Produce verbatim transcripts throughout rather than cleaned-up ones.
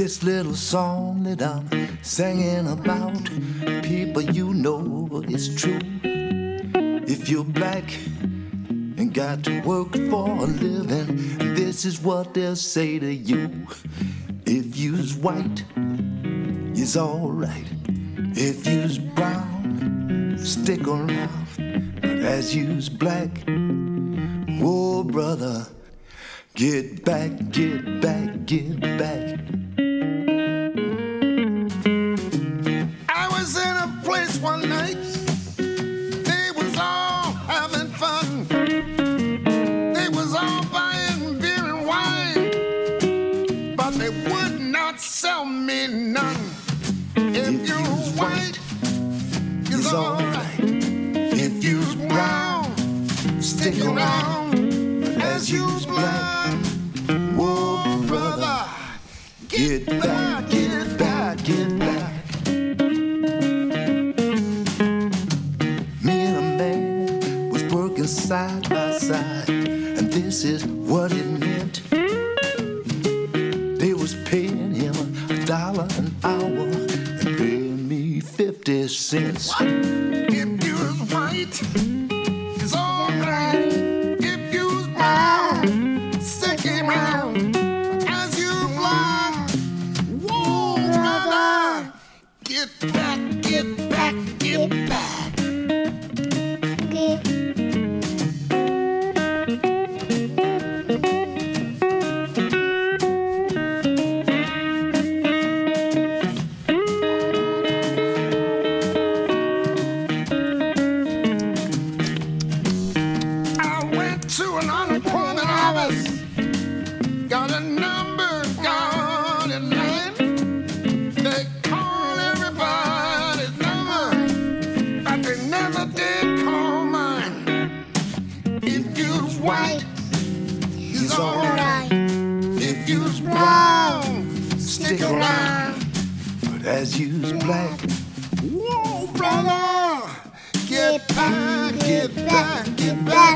This little song that I'm singing about, people, you know it's true. If you're black and got to work for a living, this is what they'll say to you. If you's white, it's alright. If you's brown, stick around. But as you's black, oh brother, get back, get back, get back. I was in a place one night, they was all having fun. They was all buying beer and wine, but they would not sell me none. If, if you're white, it's alright. If you're brown, stick around. But as you's black, whoa brother, get back, get back, get back. Me and a man was working side by side, and this is what it meant. They was paying him a dollar an hour and paying me fifty cents. What? If you was white, it's alright. If you was brown, stick around. As you fly, whoa, brother, get back, get back, get back. As you's black, whoa, brother, get back, get back, get back.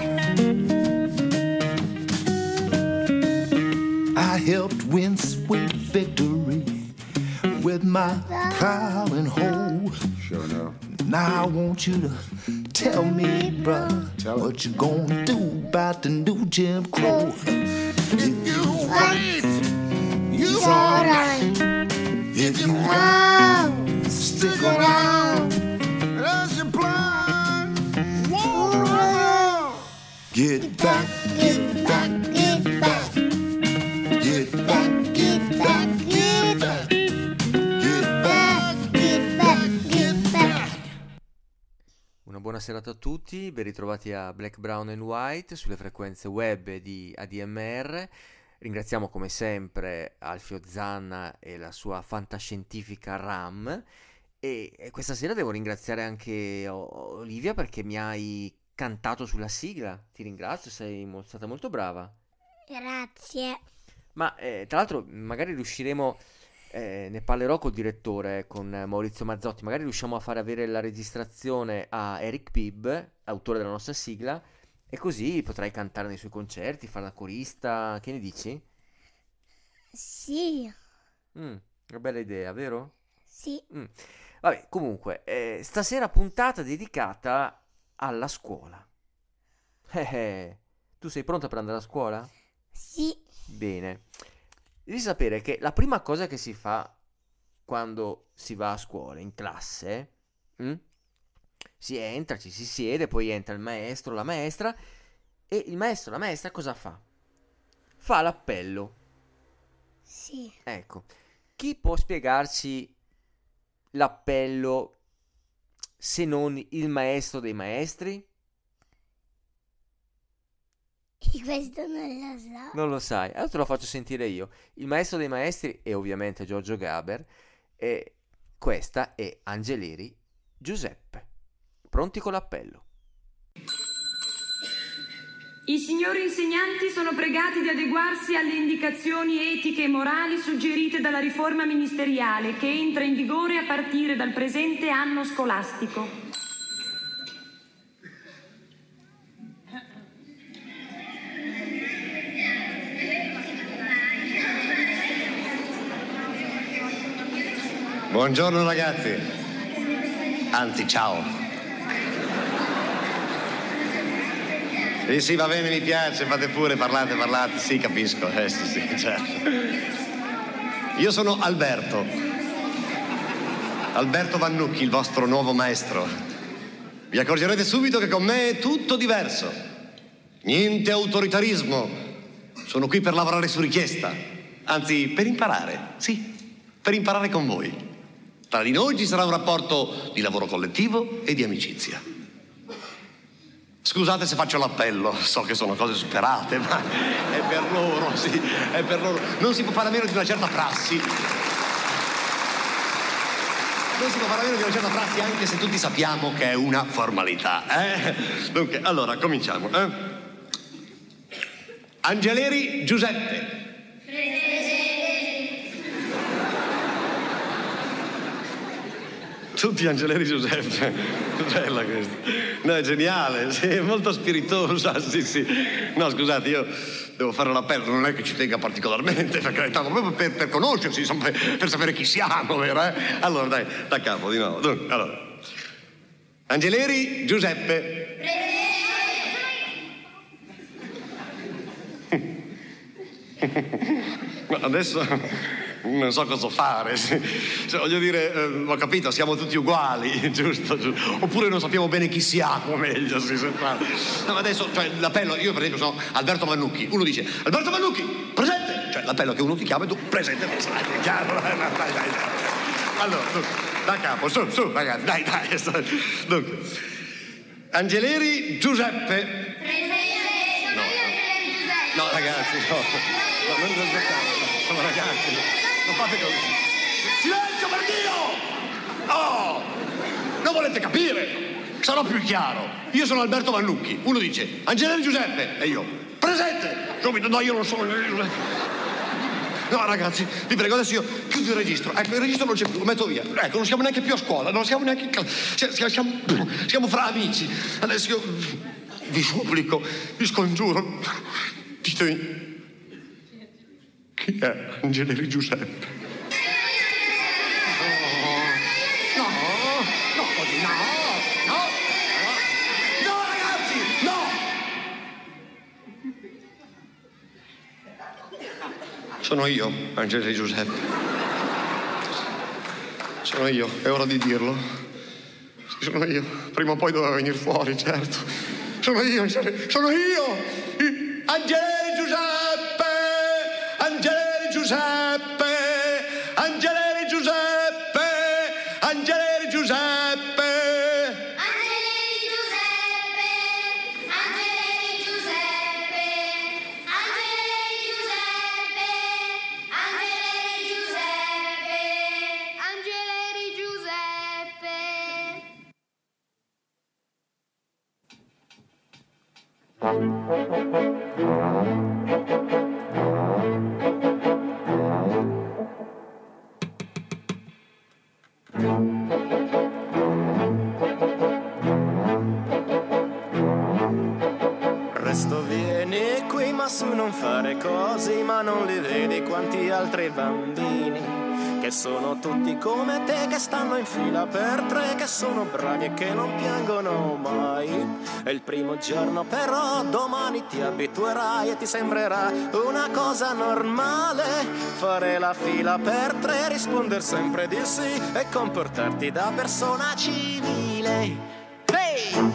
I helped win sweet victory with my plow and hoe. Sure enough. Now I want you to tell me, brother, tell what you gonna do about the new Jim Crow. If you white, you alright. If you want, stick around. As you blind, whoa, brother, get back, get back, get back. Get back, get back, get back. Get back, get back, get back. Una buona serata a tutti, ben ritrovati a Black, Brown and White sulle frequenze web di A D M R. Ringraziamo come sempre Alfio Zanna e la sua fantascientifica RAM e questa sera devo ringraziare anche Olivia perché mi hai cantato sulla sigla. Ti ringrazio, sei mo- stata molto brava. Grazie. Ma eh, tra l'altro magari riusciremo, eh, ne parlerò col direttore, con Maurizio Mazzotti, magari riusciamo a far avere la registrazione a Eric Pibb, autore della nostra sigla, e così potrai cantare nei suoi concerti, fare la corista. Che ne dici? Sì. Mm, una bella idea, vero? Sì. Mm. Vabbè, comunque, eh, stasera puntata dedicata alla scuola. Eh, eh, tu sei pronta per andare a scuola? Sì. Bene. Devi sapere che la prima cosa che si fa quando si va a scuola, in classe, mm? si entra, ci si siede, poi entra il maestro, la maestra, e il maestro, la maestra cosa fa? Fa l'appello. Sì. Ecco, chi può spiegarci l'appello se non il maestro dei maestri? E questo non lo so. Non lo sai, allora te lo faccio sentire io. Il maestro dei maestri è ovviamente Giorgio Gaber e questa è Angeleri Giuseppe. Pronti con l'appello. I signori insegnanti sono pregati di adeguarsi alle indicazioni etiche e morali suggerite dalla riforma ministeriale che entra in vigore a partire dal presente anno scolastico. Buongiorno ragazzi. Anzi, ciao. Sì, sì, va bene, mi piace, fate pure, parlate, parlate, sì, capisco, eh, sì, sì, certo. Io sono Alberto. Alberto Vannucchi, il vostro nuovo maestro. Vi accorgerete subito che con me è tutto diverso. Niente autoritarismo. Sono qui per lavorare su richiesta. Anzi, per imparare, sì, per imparare con voi. Tra di noi ci sarà un rapporto di lavoro collettivo e di amicizia. Scusate se faccio l'appello, so che sono cose superate, ma è per loro, sì, è per loro. Non si può fare a meno di una certa prassi. Non si può fare a meno di una certa prassi, anche se tutti sappiamo che è una formalità, eh? Dunque, allora, cominciamo, eh? Angeleri Giuseppe. Tutti Angeleri Giuseppe, bella questa. No, è geniale, sì, è molto spiritosa, sì, sì. No, scusate, io devo fare l'appello, non è che ci tenga particolarmente, per carità, ma proprio per, per conoscersi, insomma, per, per sapere chi siamo, vero, eh? Allora, dai, da capo, di nuovo. Dunque, allora. Angeleri Giuseppe. Ma adesso non so cosa fare, sì. Cioè, voglio dire, eh, ho capito, siamo tutti uguali, giusto, giusto? Oppure non sappiamo bene chi siamo, meglio, sì, se fa. No, ma adesso, cioè, l'appello, io per esempio sono Alberto Vannucchi, uno dice, Alberto Vannucchi, presente! Cioè, l'appello che uno ti chiama e tu, presente, è chiaro? Dai, dai, dai, dai. Allora, tu, da capo, su, su, ragazzi, dai, dai. Dunque, Angeleri Giuseppe. Presente! No, no, no ragazzi, no, no, non aspettare, no, ragazzi. Non fate così. Silenzio per Dio! Oh! Non volete capire? Sarò più chiaro. Io sono Alberto Vannucchi. Uno dice Angeleri Giuseppe e io presente. Subito, no, io non sono Angeleri Giuseppe. No, ragazzi, vi prego, adesso io chiudo il registro. Ecco, il registro non c'è più, lo metto via. Ecco, non siamo neanche più a scuola, non siamo neanche. Siamo, siamo, siamo fra amici. Adesso io vi supplico, vi scongiuro. Ditemi. Chi è Angeleri Giuseppe? No, no, no, così no, no, no, ragazzi, no! Sono io, Angeleri Giuseppe. Sono io, è ora di dirlo. Sì, sono io. Prima o poi doveva venire fuori, certo. Sono io, sono io! Angeleri Giuseppe! Angeleri Giuseppe! Angeleri Giuseppe! Angeleri Giuseppe! Angeleri Giuseppe! Angeleri Giuseppe! Angeleri Giuseppe! Angeleri Giuseppe! Angeleri Giuseppe! Resto vieni qui ma su non fare così, ma non li vedi quanti altri bambini che sono tutti come te, che stanno in fila per tre, che sono bravi e che non piangono mai. È il primo giorno però domani ti abituerai e ti sembrerà una cosa normale fare la fila per tre, risponder sempre di sì e comportarti da persona civile. Hey!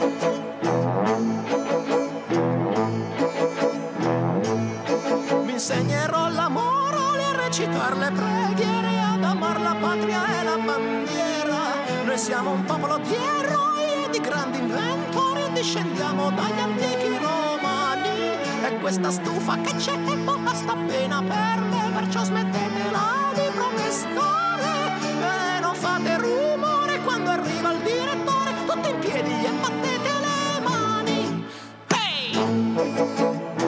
Mi insegnerò l'amore, a recitare le preghiere, ad amar la patria e la bandiera. Noi siamo un popolo di eroi e di grandi inventori, discendiamo dagli antichi romani. E questa stufa che c'è è poca, sta bene per me, perciò smettetela di protestare e non fate rumore quando arriva il direttore. Tutti in piedi e battete le mani. Hey!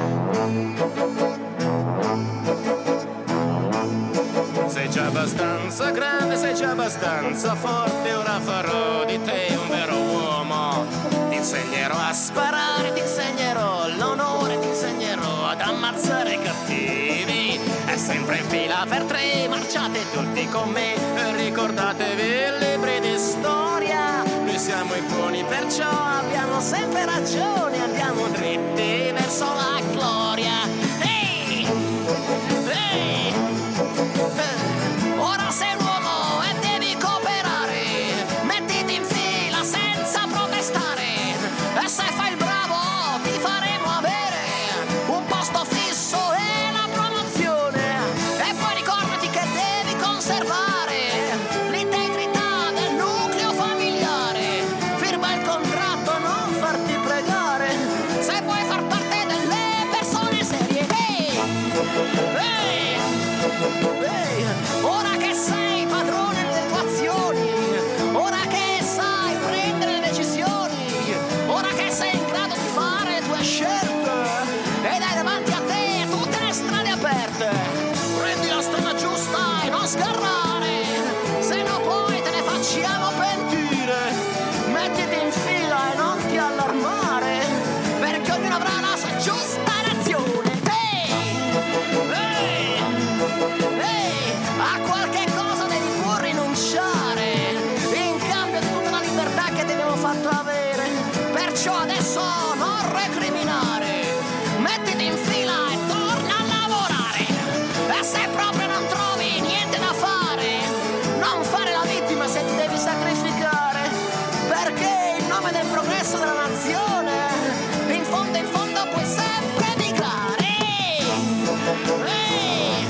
Sei già abbastanza grande, sei già abbastanza forte, ora farò di te un vero uomo. Ti insegnerò a sparare, ti insegnerò l'onore, ti insegnerò ad ammazzare i cattivi. È sempre in fila per tre, marciate tutti con me, ricordatevi i libri di storia. Noi siamo i buoni, perciò abbiamo sempre ragione, andiamo dritti verso la gloria. Ehi! Ehi! Ora sei un uomo e devi cooperare, mettiti in fila senza protestare, e se fai il bravo ti faremo avere un posto fisso e la promozione. E poi ricordati che devi conservare l'integrità del nucleo familiare, firma il contratto, non farti pregare se vuoi far parte delle persone serie. Ehi! Ehi! Ehi! Ora che sei padrone delle tue azioni, ora che sai prendere le decisioni, ora che sei in grado di fare le tue scelte ed hai davanti a te tutte le strade aperte, prendi la strada giusta e non sgarrare, se no poi te ne facciamo pentire. Mettiti in fila e non ti allarmare, perché ognuno avrà la sua giusta nazione. Ehi! Ehi! A qualche cosa devi pur rinunciare in cambio di tutta la libertà che ti abbiamo fatto avere, perciò adesso non recriminare, mettiti in fila e torna a lavorare. E se proprio non trovi niente da fare, non fare la vittima se ti devi sacrificare, perché in nome del progresso della nazione in fondo in fondo puoi sempre emigrare. Ehi!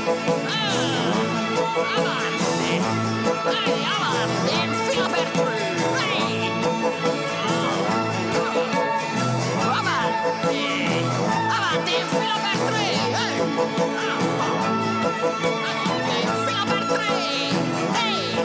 Avanti, ehi, avanti, in fila per tre, ehi, avanti, avanti, in fila per tre, ehi, avanti, in fila per tre, ehi,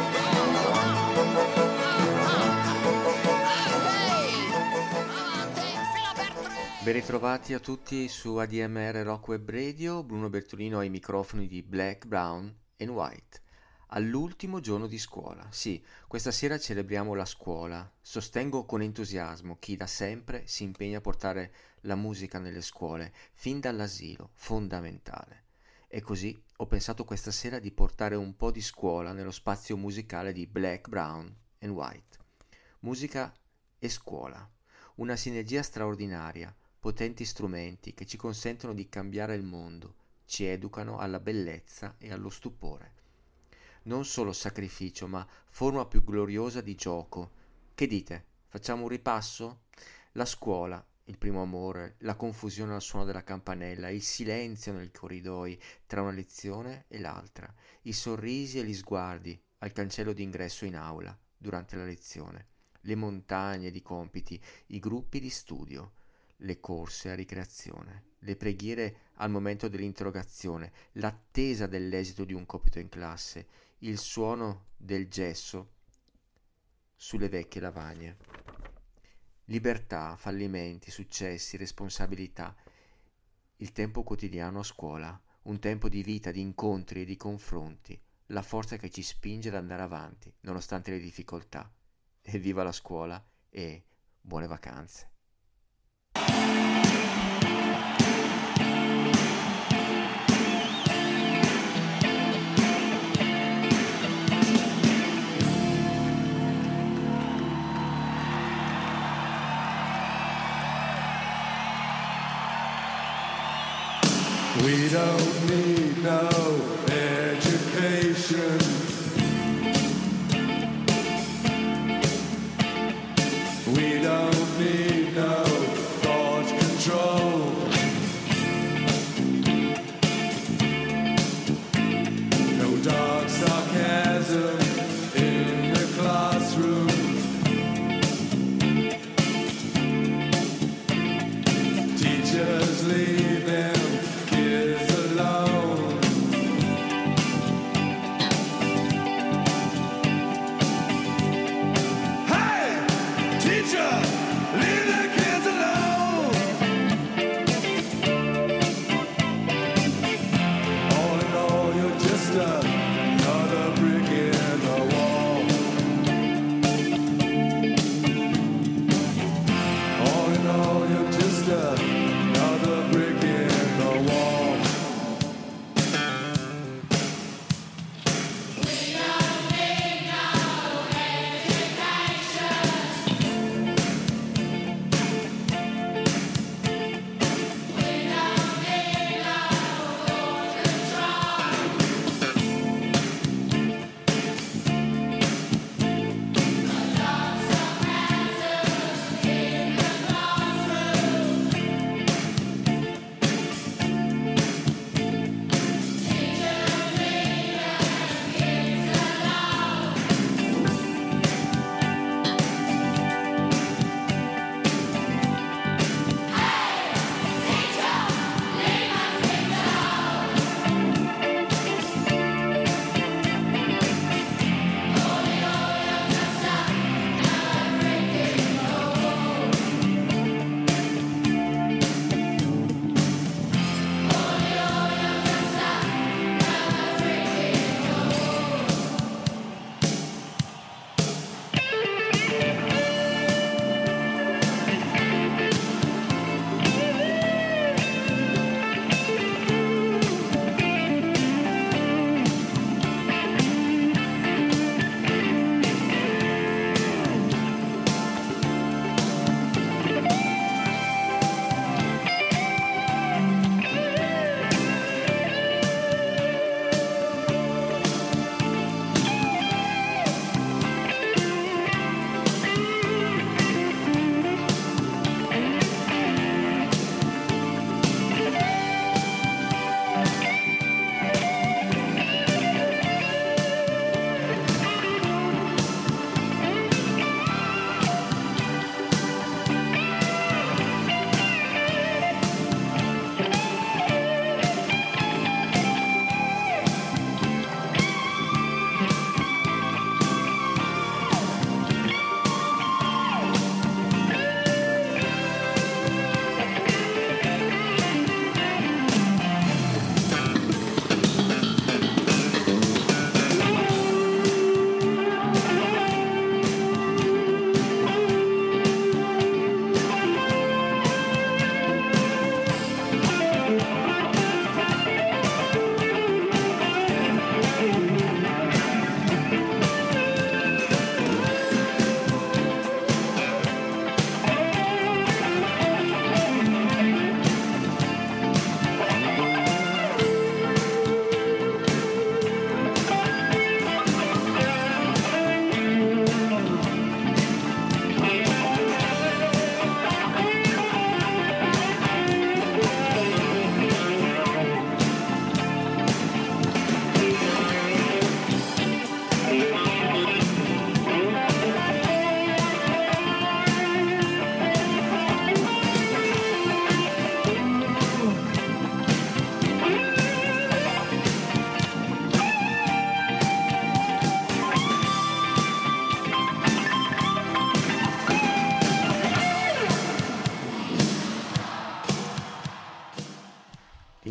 avanti, in fila per tre. Ben ritrovati a tutti su A D M R Rock Web Radio, Bruno Bertolino ai microfoni di Black, Brown and White. All'ultimo giorno di scuola, sì, questa sera celebriamo la scuola. Sostengo con entusiasmo chi da sempre si impegna a portare la musica nelle scuole, fin dall'asilo, fondamentale. E così ho pensato questa sera di portare un po' di scuola nello spazio musicale di Black, Brown and White. Musica e scuola, una sinergia straordinaria, potenti strumenti che ci consentono di cambiare il mondo, ci educano alla bellezza e allo stupore. Non solo sacrificio, ma forma più gloriosa di gioco. Che dite? Facciamo un ripasso? La scuola, il primo amore, la confusione al suono della campanella, il silenzio nei corridoi tra una lezione e l'altra, i sorrisi e gli sguardi al cancello d'ingresso in aula durante la lezione, le montagne di compiti, i gruppi di studio, le corse a ricreazione, le preghiere al momento dell'interrogazione, l'attesa dell'esito di un compito in classe, il suono del gesso sulle vecchie lavagne. Libertà, fallimenti, successi, responsabilità. Il tempo quotidiano a scuola, un tempo di vita, di incontri e di confronti, la forza che ci spinge ad andare avanti, nonostante le difficoltà. Evviva la scuola e buone vacanze. We don't need no education. We don't need no thought control. No dark sarcasm in the classroom. Teachers leave them kids alone. Hey, teacher, leave the kids alone. All in all, you're just another brick in the wall. All in all, you're just another brick in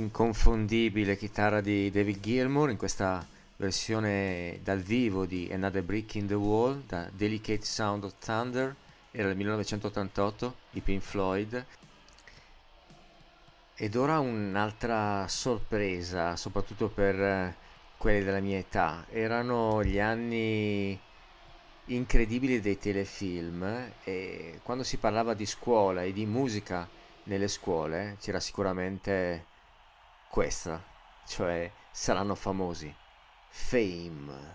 L'inconfondibile chitarra di David Gilmour in questa versione dal vivo di Another Brick in the Wall da Delicate Sound of Thunder, era il millenovecentottantotto di Pink Floyd. Ed ora un'altra sorpresa, soprattutto per quelli della mia età. Erano gli anni incredibili dei telefilm, e quando si parlava di scuola e di musica nelle scuole c'era sicuramente questa, cioè Saranno famosi, Fame.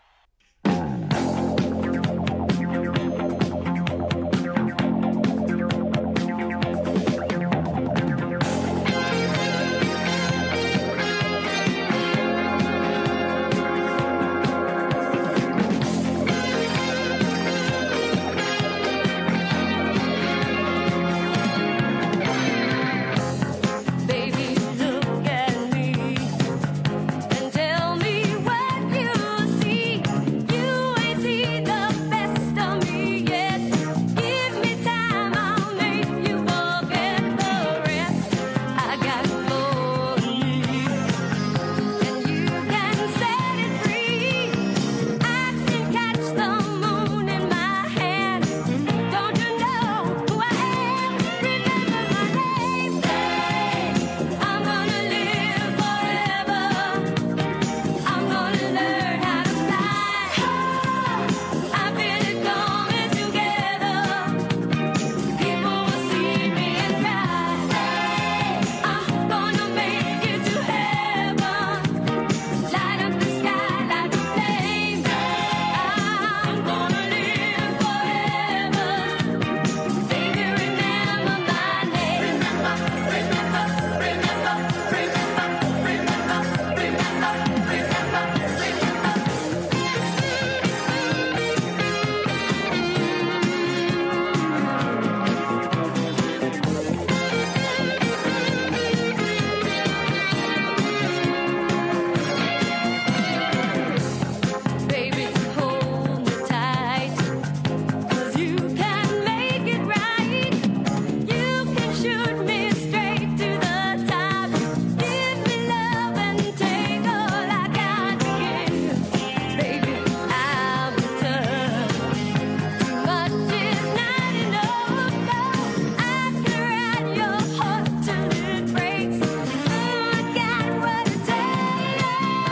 Baby, look at me and tell me what you see. You ain't seen the best of me yet. Give me time, I'll make you forget the rest. I got more than me, and you can set it free. I can catch the moon in my hand. Don't you know who I am? Remember my name. I'm gonna live forever. I'm gonna learn how to fly. I feel it coming together. People will see me and cry. I'm gonna make it to heaven. Light up the sky like a flame. I'm gonna live forever. Baby, remember my name. Remember, remember, remember, remember, remember, remember, Baby, hold me tight, 'cause you can make it right. You can shoot me straight to the top. Give me love and take all I got to give. Baby, I'll be tough. Too much is not enough. No, I can ride your heart till it breaks. I got what it takes.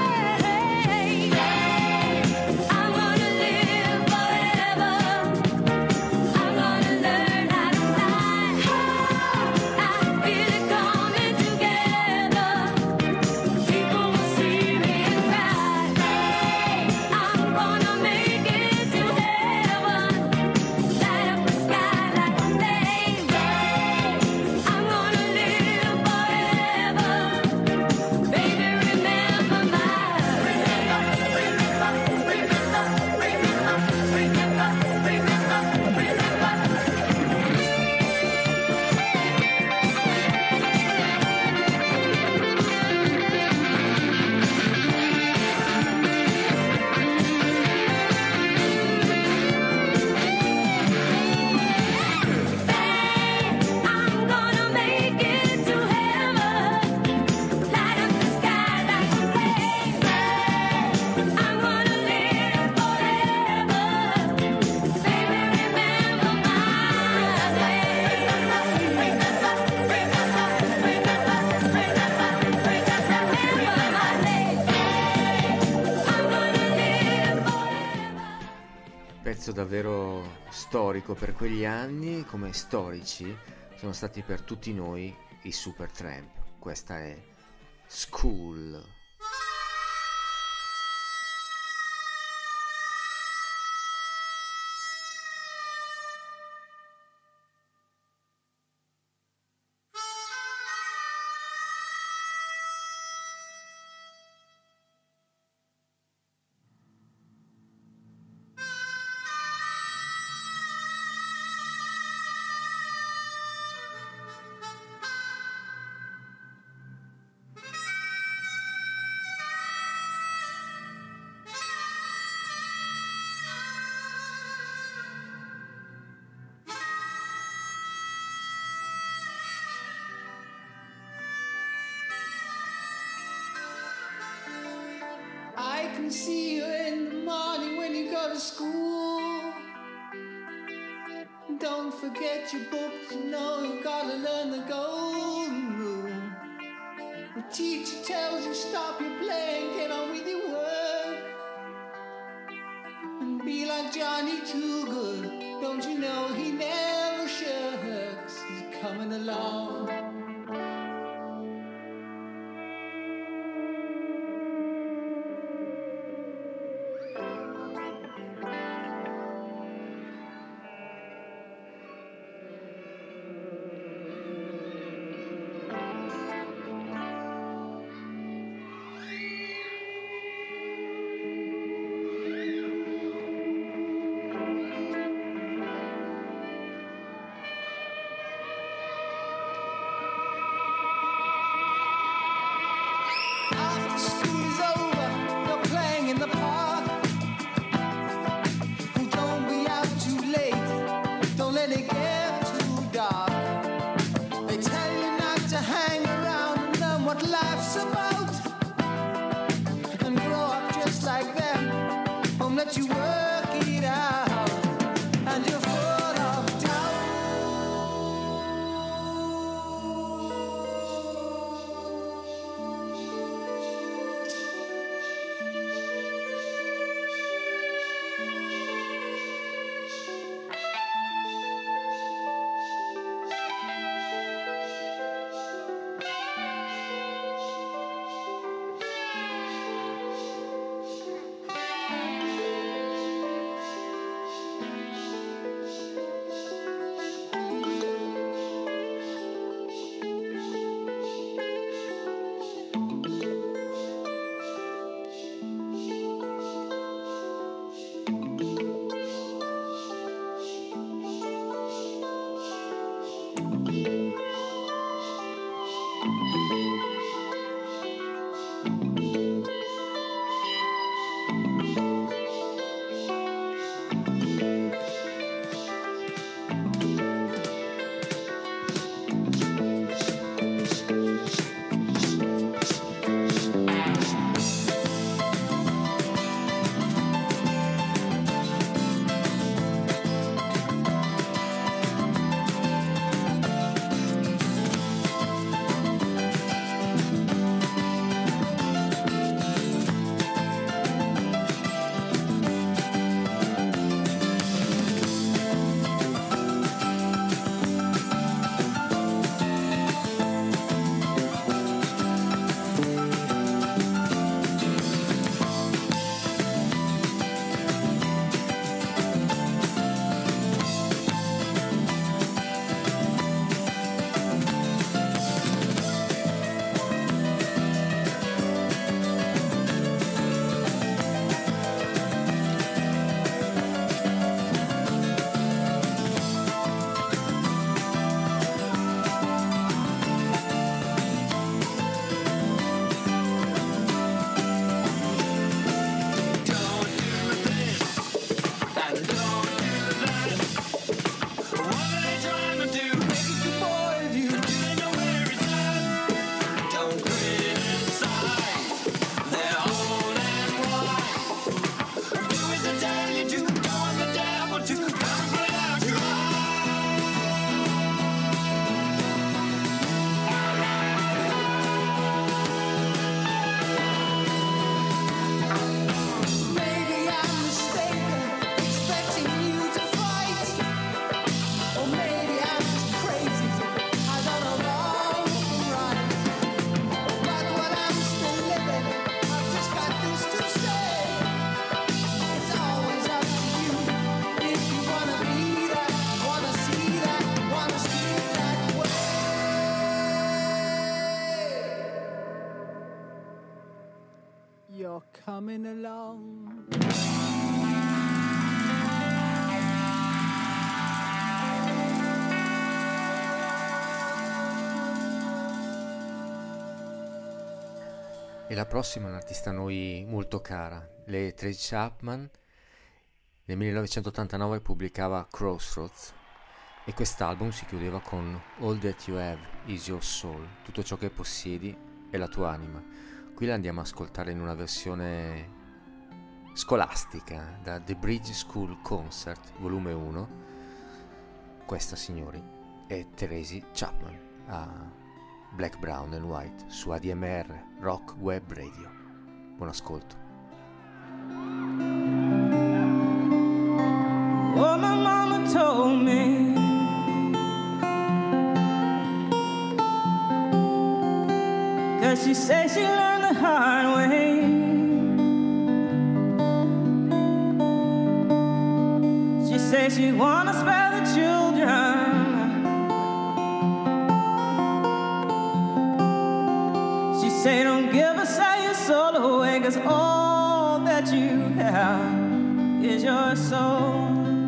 I'm gonna live forever. I'm gonna learn how to fly. I feel it coming together. People will see me and cry. I'm gonna make it to heaven. Light up the sky like a flame. I'm gonna live forever. Baby, remember my remember, remember, remember, remember, remember, remember. I'm gonna make it to heaven. Light up the sky like a flame. I'm gonna live forever. Baby, remember my name. Remember, remember, remember, remember, remember my name. I'm gonna live forever. Pezzo davvero storico per quegli anni, come storici sono stati per tutti noi i Supertramp. Questa è School. and see you in the morning when you go to school. Don't forget your books, you know you've got to learn the golden rule. The teacher tells you stop your playing, get on with your work. And be like Johnny Too Good, don't you know he never shirks. He's coming along. You're coming along. E la prossima è un'artista a noi molto cara, le Tracy Chapman. Nel millenovecentottantanove pubblicava Crossroads e quest'album si chiudeva con All That You Have Is Your Soul, tutto ciò che possiedi è la tua anima. Qui la andiamo a ascoltare in una versione scolastica da The Bridge School Concert, volume uno. Questa, signori, è Tracy Chapman a Black, Brown and White su A D M R Rock Web Radio. Buon ascolto. Oh, my mama told me cause she said she learned the hard way. She said she wanna spare the children. She said don't give us all your soul away, cause all that you have is your soul.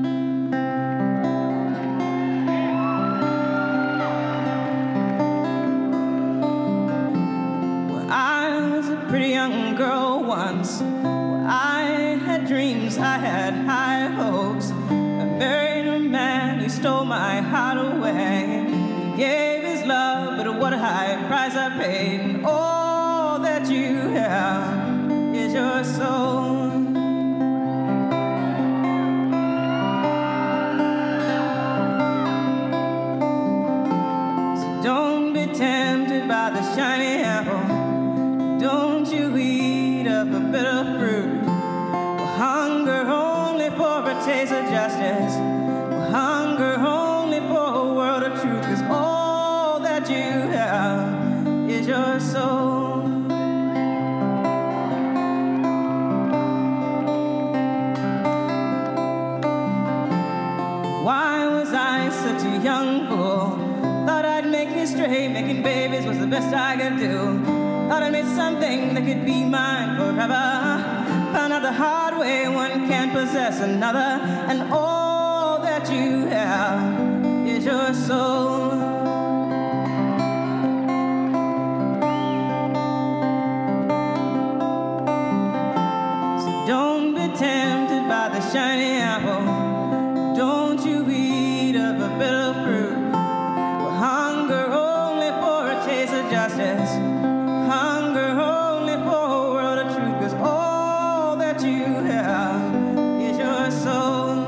Pretty young girl once, I had dreams, I had high hopes. I married a man who stole my heart away. He gave his love, but what a high price I paid. And all that you have is your soul. So don't be tempted by the shiny apple. Don't you eat of the bitter fruit. We'll hunger only for a taste of justice. We'll hunger only for a world of truth. Cause all that you have is your soul. Why was I such a young fool? Thought I'd make history, making babies was the best I could do. Thought I made something that could be mine forever. Found out the hard way one can't possess another. And all that you have is your soul. So don't be tempted by the shiny apple. Don't you eat of a bitter fruit. We'll hunger only for a taste of justice. Hunger only for a world of truth. Cause all that you have is your soul.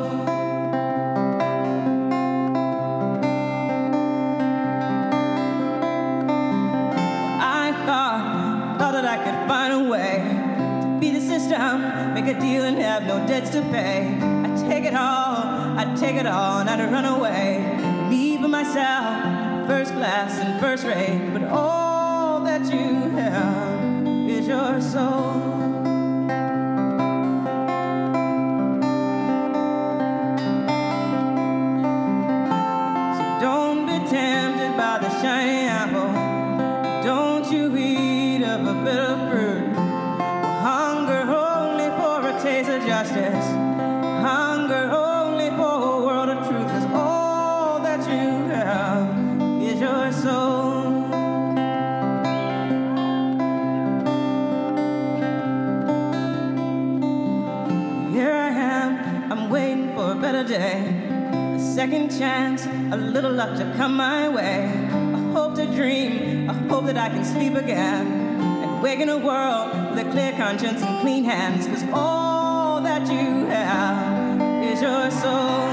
I thought, thought that I could find a way to beat the system, make a deal and have no debts to pay. I'd take it all, I'd take it all and I'd run away. Me for myself, first class and first rate. But all that you have is your soul. So don't be tempted by the shiny apple. Don't you eat of a bitter fruit. We'll hunger only for a taste of justice. Hunger only for a world of truth. Cause all that you have is your soul. Waiting for a better day, a second chance, a little luck to come my way. I hope to dream, I hope that I can sleep again and wake in a world with a clear conscience and clean hands. Cause all that you have is your soul.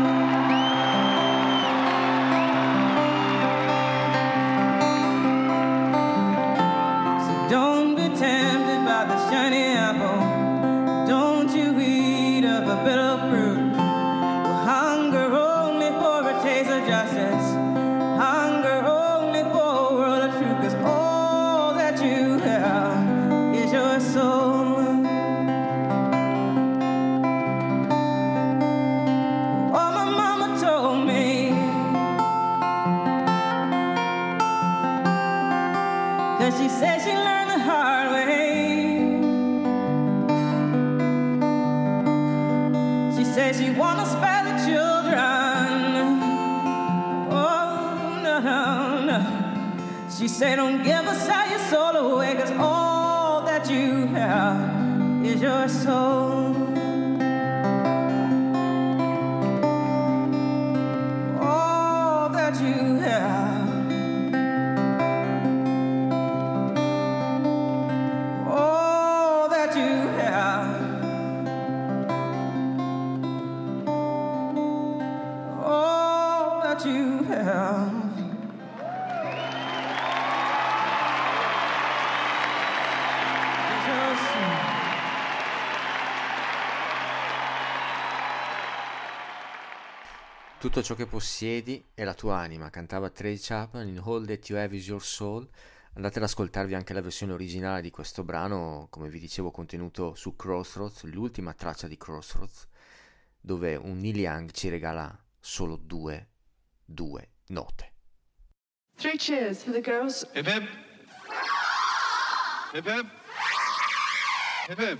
So don't be tempted by the shiny apple. Don't you eat of a bitter fruit. We'll hunger only for a taste of justice. Hunger only for a world of truth. Cause all that you have is your soul. Oh, my mama told me, cause she said she learned the hard way. Says she wanna spare the children. Oh, no, no, no. She said don't give us all your soul away. Cause all that you have is your soul. All that you have. All that you have Tutto ciò che possiedi è la tua anima, cantava Tracy Chapman in All That You Have Is Your Soul. Andate ad ascoltarvi anche la versione originale di questo brano, come vi dicevo, contenuto su Crossroads, l'ultima traccia di Crossroads, dove un Neil Young ci regala solo due, due note. Three cheers for the girls. Hip hip. Hip hip. Hip hip.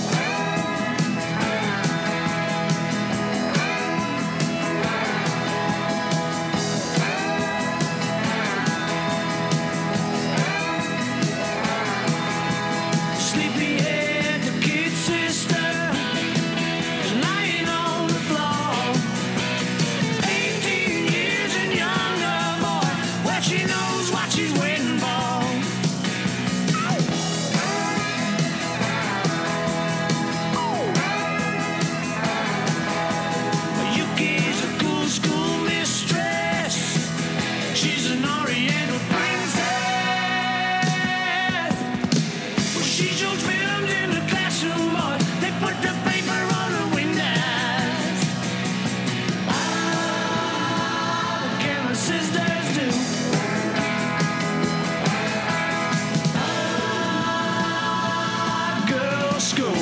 Sleepyhead, the kid sister, is lying on the floor. Eighteen years and younger boy, well she knows what she's waiting for. Yuki's a cool school mistress. She's an oriental princess. Well, she shows films in the classroom, boy. They put the paper on the windows. Ah, what can the sisters do? Ah, girls' school.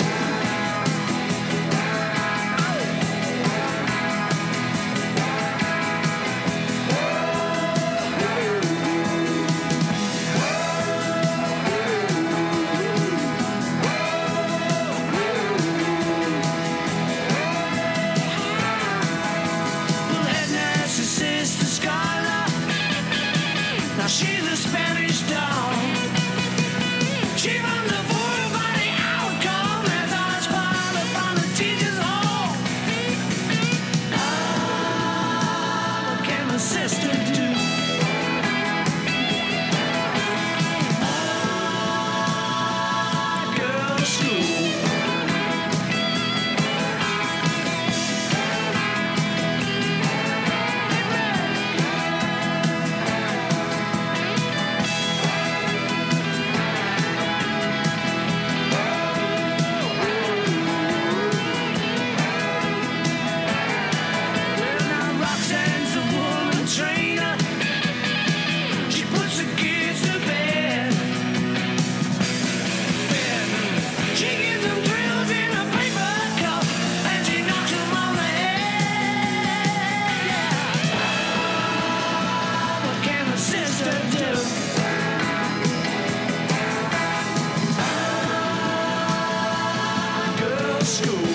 Head nurse is Sister Scarla. Now she's a Spanish doll. She runs a full body outcome as I spy upon the teacher's hall. Ah, what can the sister do? Ah, girls' school. Well, now Roxanne's a woman trainer. She puts the kids to bed. Bed. She gives them drills in a paper cup and she knocks them on the head. Yeah. Ah, what can the sister do? Ah, girls' school.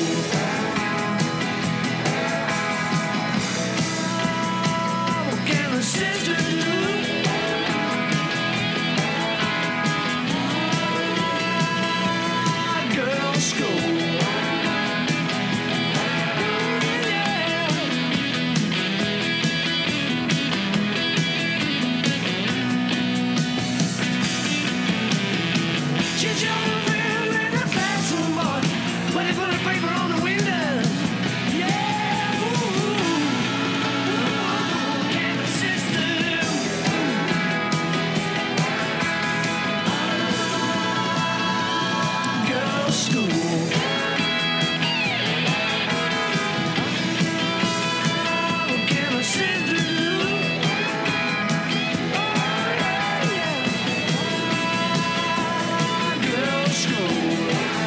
What can the sister do? Ah, girls' school. She's showing film in the classroom, boy, when they put the paper on the windows. Yeah, ooh, what can the sister do? Girls' school. What can the sister do? Girls' school.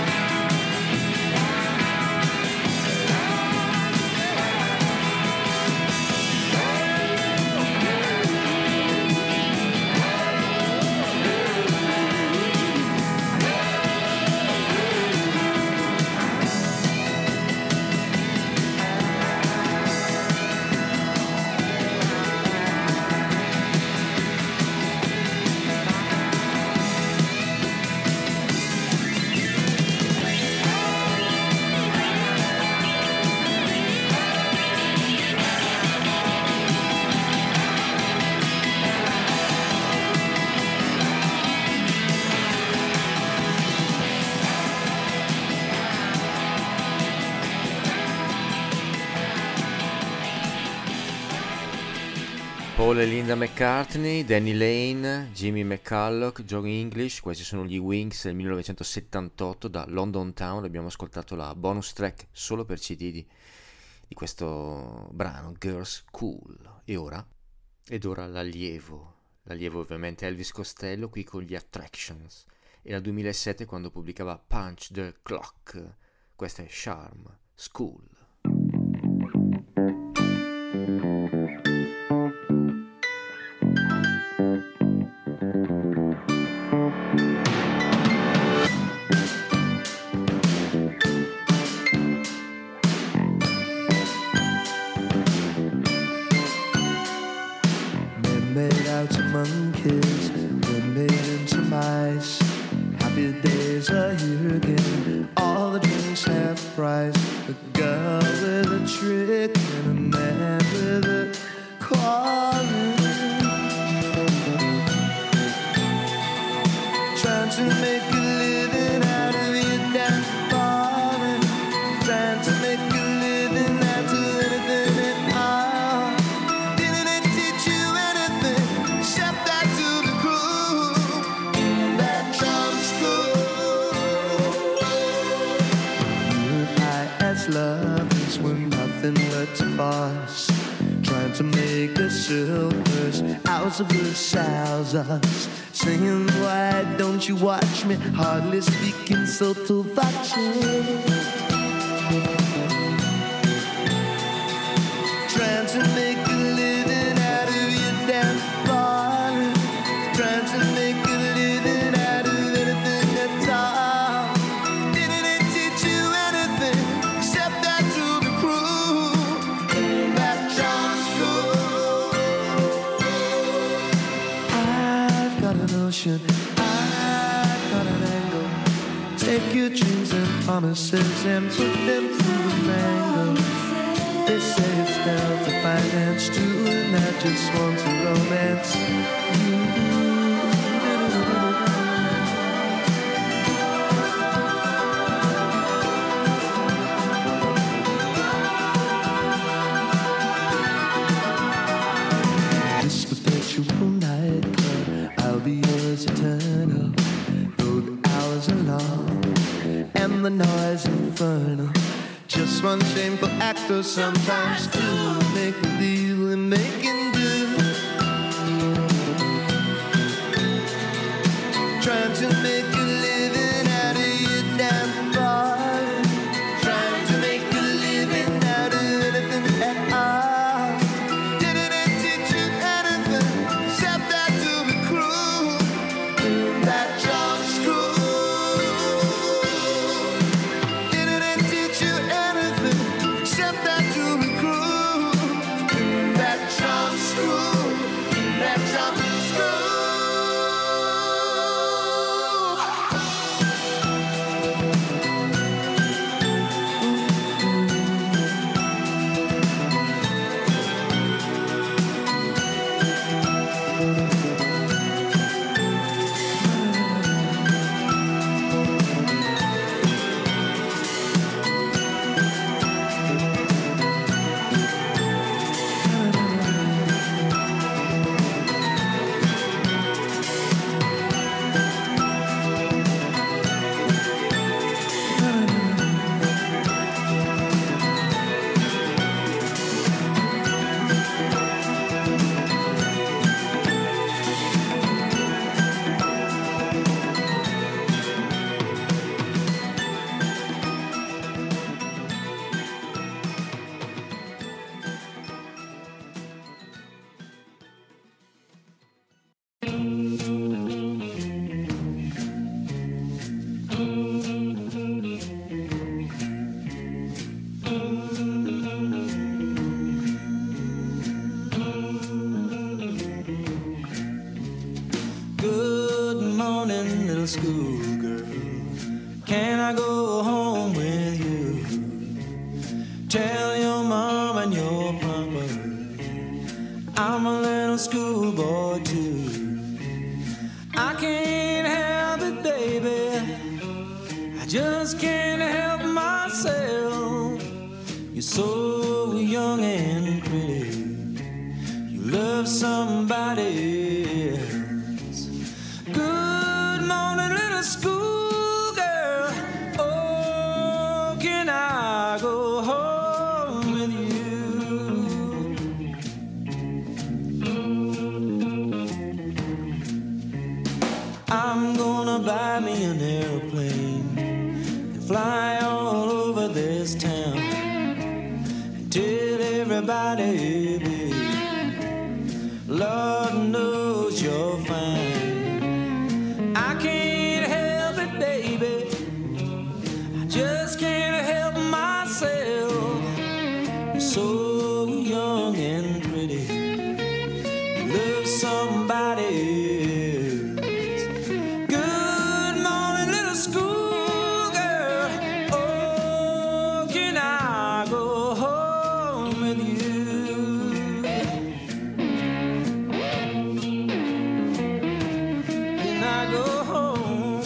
Paul e Linda McCartney, Danny Lane, Jimmy McCulloch, John English, questi sono gli Wings del millenovecentosettantotto da London Town. Abbiamo ascoltato la bonus track solo per C D di di questo brano Girls Cool. E ora? Ed ora l'allievo, l'allievo ovviamente Elvis Costello qui con gli Attractions. Era il duemilasette quando pubblicava Punch the Clock. Questa è Charm School. Monkeys, been made into mice. Happy days are here again. All the drinks half price. A girl with a trick and a man with a calling. Trying to make a living out of your damn falling. Trying to make a living out of anything at all. Didn't it teach you anything? Except that to the crew, that charm school. You and I as lovers were nothing but a farce, trying to make a silvers out of ourselves. Us singing, why don't you watch me? Hardly speaking sotto voce. Trying to make a living out of your damn body. Trying to make a living out of anything at all. Didn't it teach you anything except that to the crew, that charm school? I've got a notion, I've got an angle. Take your dreams and promises and put them through the mango. They say it's down to finance too, and I just want to romance. This perpetual night club, I'll be yours eternal. Though the hours are long and the noise infernal. Just one shameful actor sometimes too. Make believe we're making do. Trying to make a living out of your damn body. Trying to make a living out of anything at all. Didn't it teach you anything except that to the crew, that charm school? Didn't it teach you anything except that to the crew, that charm school, that charm school? Good morning, little schoolgirl. Can I go home with you? Tell your mom and your papa I'm a little schoolboy too. I can't help it, baby. I just can't help myself. You're so young and pretty. You love somebody else. Good morning, little schoolgirl. Oh, can I go home with you? Lord knows you're fine. I can't help it, baby. I just can't help myself. You're so young and pretty. You love somebody else. Good morning, little schoolgirl. Oh, can I go home with you? Can I go home?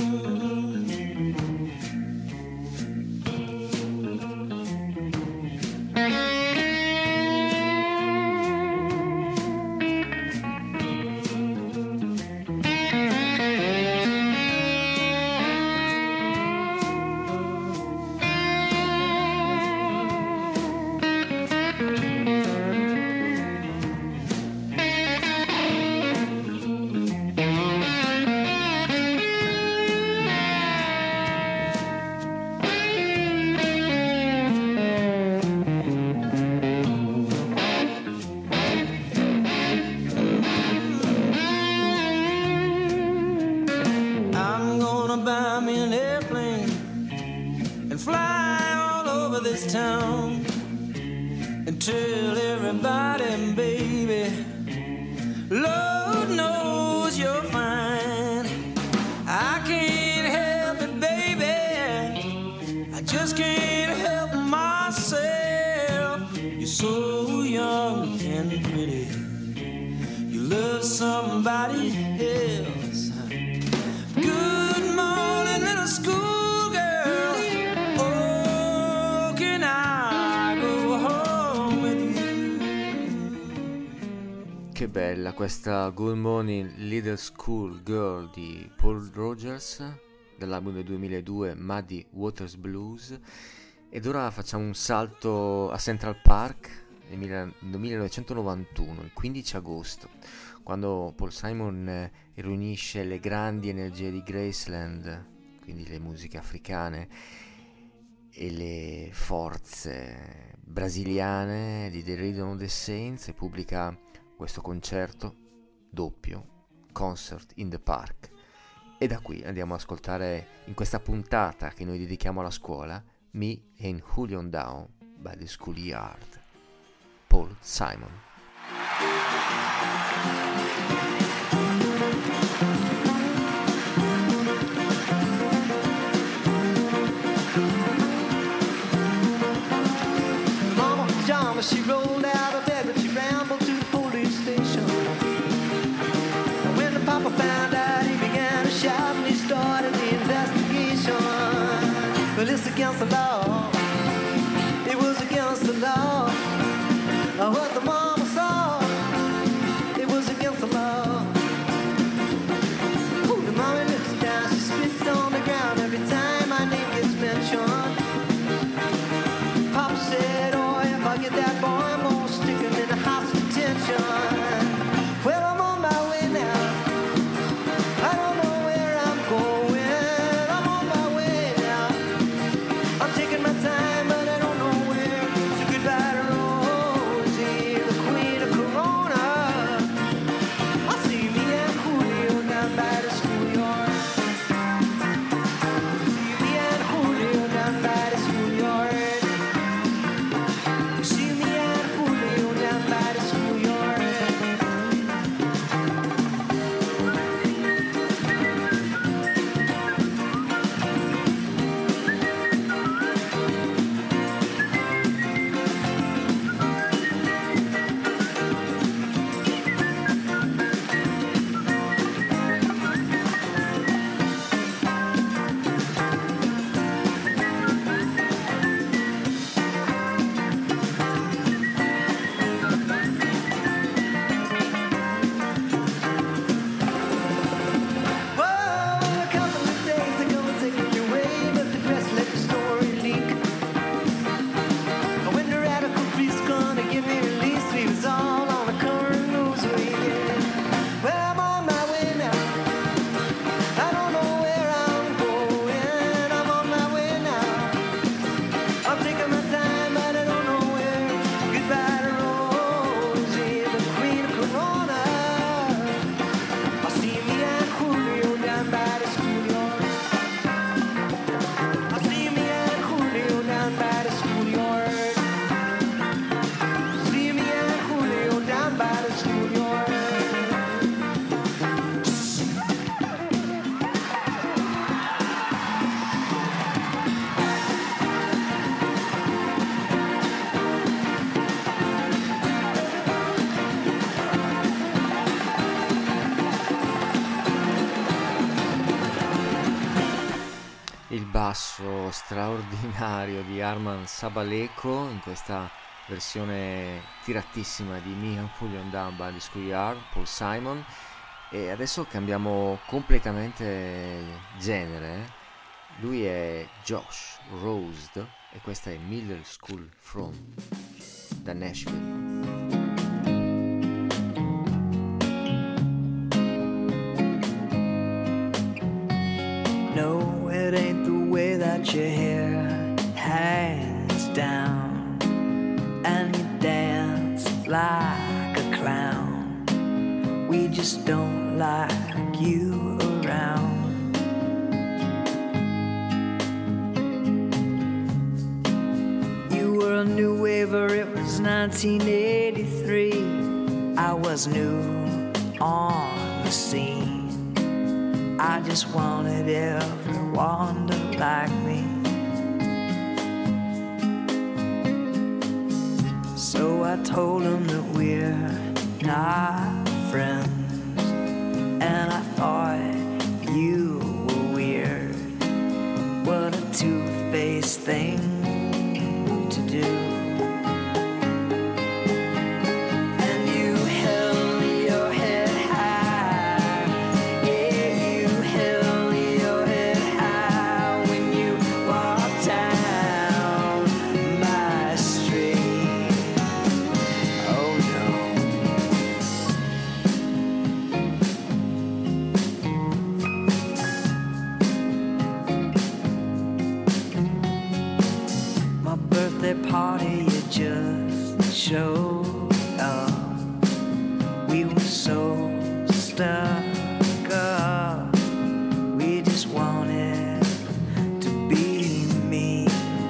I'm gonna buy me an airplane and fly all over this town and tell everybody, baby, Lord knows you're fine. I can't help it, baby. I just can't help myself. You're so young and pretty. You love somebody else. Good morning, little schoolgirl. Oh, can I go home with you? Che bella questa Good Morning Little School Girl di Paul Rogers dell'album del duemiladue Muddy Waters Blues. Ed ora facciamo un salto a Central Park nel mille- nel millenovecentonovantuno, il quindici agosto, quando Paul Simon eh, riunisce le grandi energie di Graceland, quindi le musiche africane, e le forze brasiliane di The Rhythm of the Saints, e pubblica questo concerto doppio, Concert in the Park. E da qui andiamo ad ascoltare, in questa puntata che noi dedichiamo alla scuola, Me and Julian Down by the Schoolyard, Paul Simon. Mama Jama, she rolled out of bed, but she rambled to the police station. When the papa found out, he began to shout and he started the investigation. Well, it's against the law. It was against the law. What the mama saw, it was against the law. Ooh, the mommy looks down, she spits on the ground every time my name gets mentioned. Papa said, oh, if I get that boy, I'm gonna stick him in the house of detention. Well, I'm on my way now. I don't know where I'm going. I'm on my way now. I'm taking my time, but I don't know where. So goodbye to Rosie, the basso straordinario di Arman Sabaleko in questa versione tiratissima di Me and Julian Damba di Schoolyard, Paul Simon. E adesso cambiamo completamente genere, eh? Lui è Josh Rosed e questa è Middle School From da Nashville. No, it ain't the way that your hair hangs down and you dance like a clown. We just don't like you around. You were a new waver, it was nineteen eighty-three. I was new on the scene. I just wanted everyone to like me. So I told them that we're not friends, and I thought you were weird. What a two-faced thing to do. Party, you just showed up. We were so stuck up. We just wanted to be me.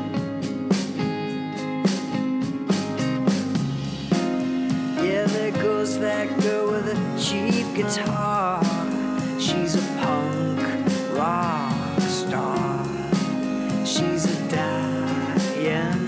Yeah, there goes that girl with a cheap guitar. She's a punk rock star. She's a dying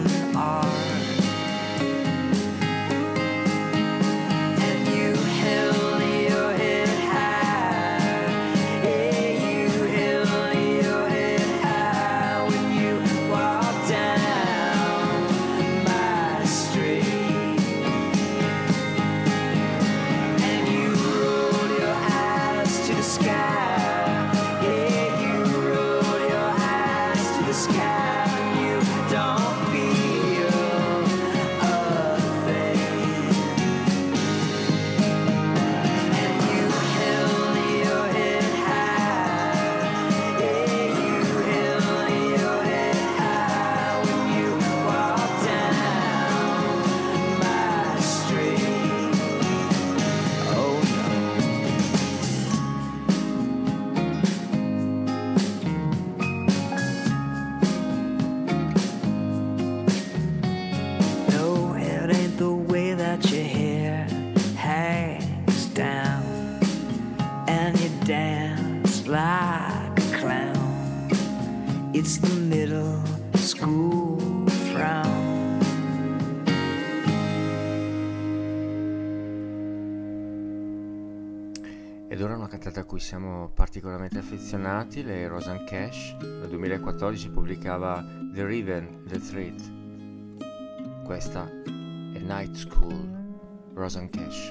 It's the middle school frown. Ed ora una cantata a cui siamo particolarmente affezionati, lei è Rosanne Cash. Nel duemilaquattordici pubblicava The River, The Threat. Questa è Night School, Rosanne Cash.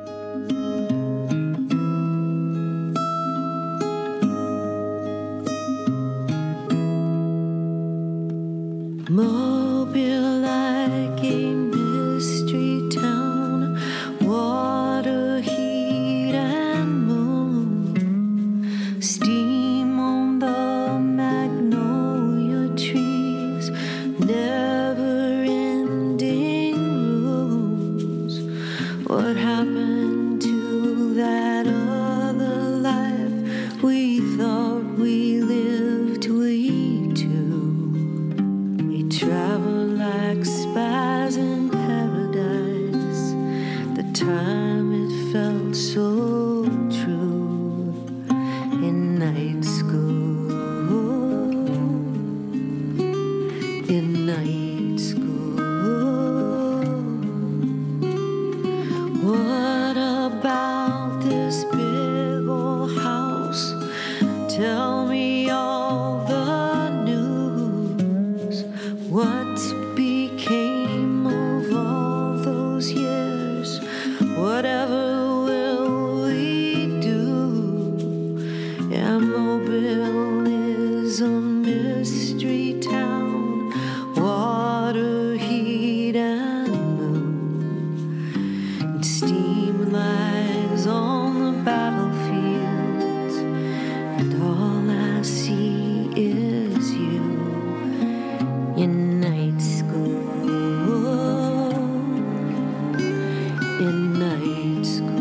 Mobile like a mystery town, water, heat and moon, steam on the magnolia trees, never ending rooms. What happened to that other life we thought we lived we too? Travel like spies in paradise. The time it felt so true in night school. In night school. What about this big old house? Tell me all the battlefields, and all I see is you in night school, in night school.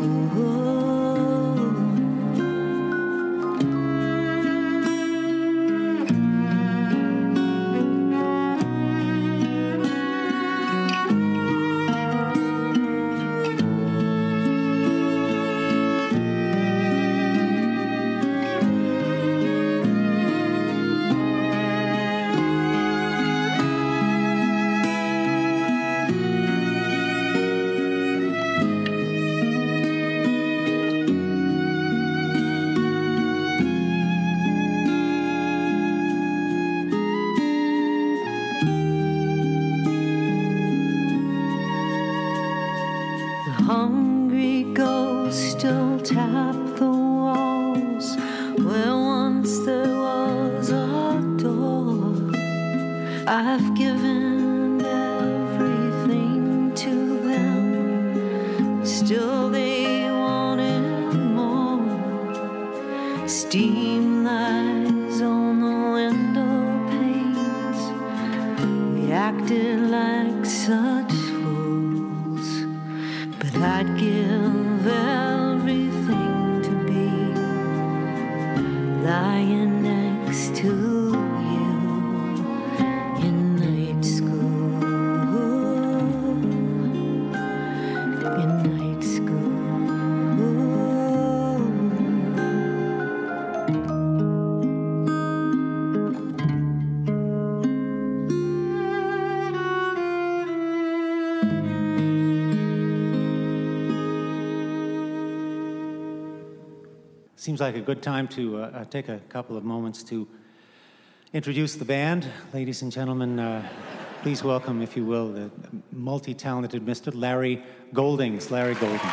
Hungry ghosts still tap the walls where once there was a door. I've given everything to them, still they wanted more. Steam lies on the window panes. We acted like such fools, but I'd give everything to be lying next to you in night school, in night school. Seems like a good time to uh, uh, take a couple of moments to introduce the band. Ladies and gentlemen, uh, please welcome, if you will, the multi-talented Mister Larry Goldings. Larry Goldings.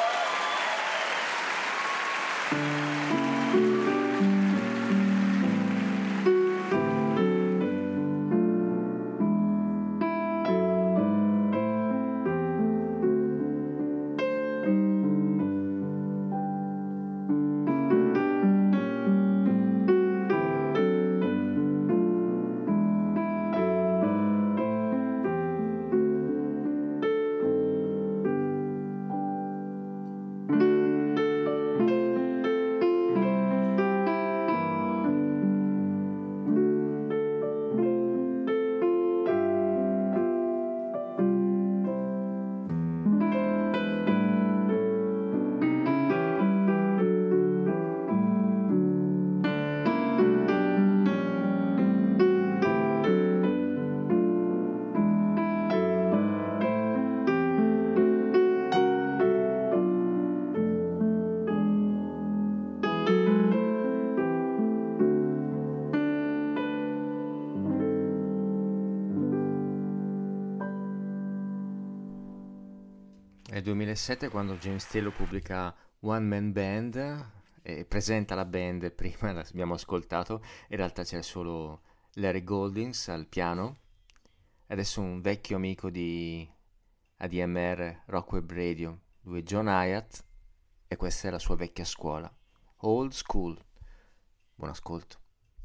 È il duemilasette quando James Taylor pubblica One Man Band e presenta la band. Prima l'abbiamo ascoltato, in realtà c'era solo Larry Goldings al piano. Adesso un vecchio amico di A D M R, Rock Web Radio, lui è John Hyatt e questa è la sua vecchia scuola, Old School. Buon ascolto.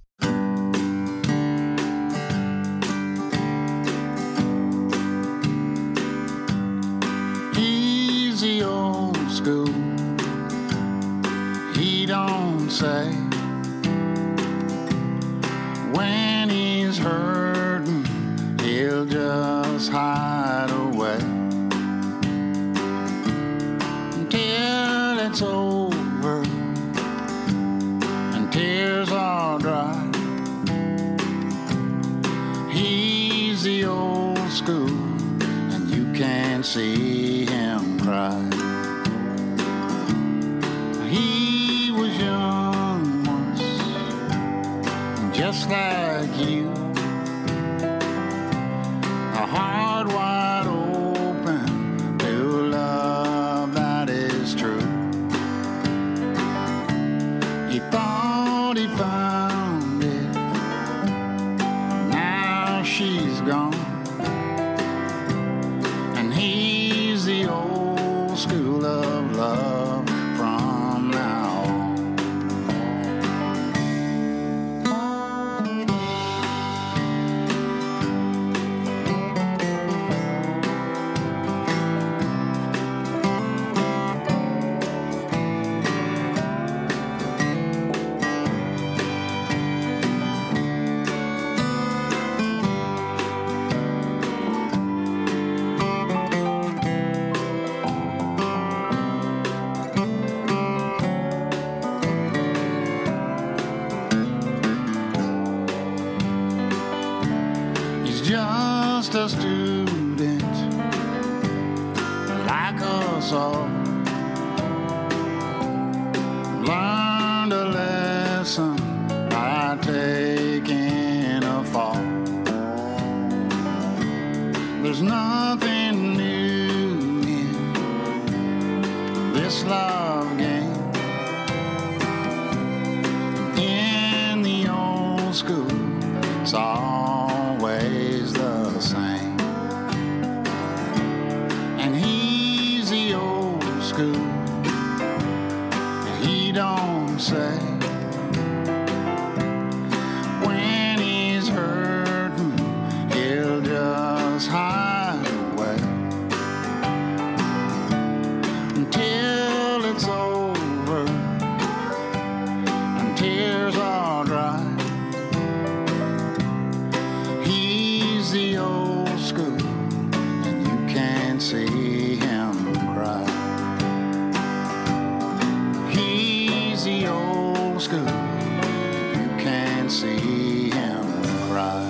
Easy old school, he don't say when he's hurting, he'll just hide away until it's over and tears are dry. He's the old school and you can't see him cry. He was young once, just like you, a heart wide open to love that is true. He thought he found it, now she's gone, and he's the old school of love from a student like us all. Learned a lesson by taking a fall. There's nothing new in this love game. In the old school, it's always the same. And he's the old school, and he don't say when he's hurting, he'll just hide away until it's over and tears are dry. He's the old school, and you can't see him cry. He's the old school, you can't see him cry.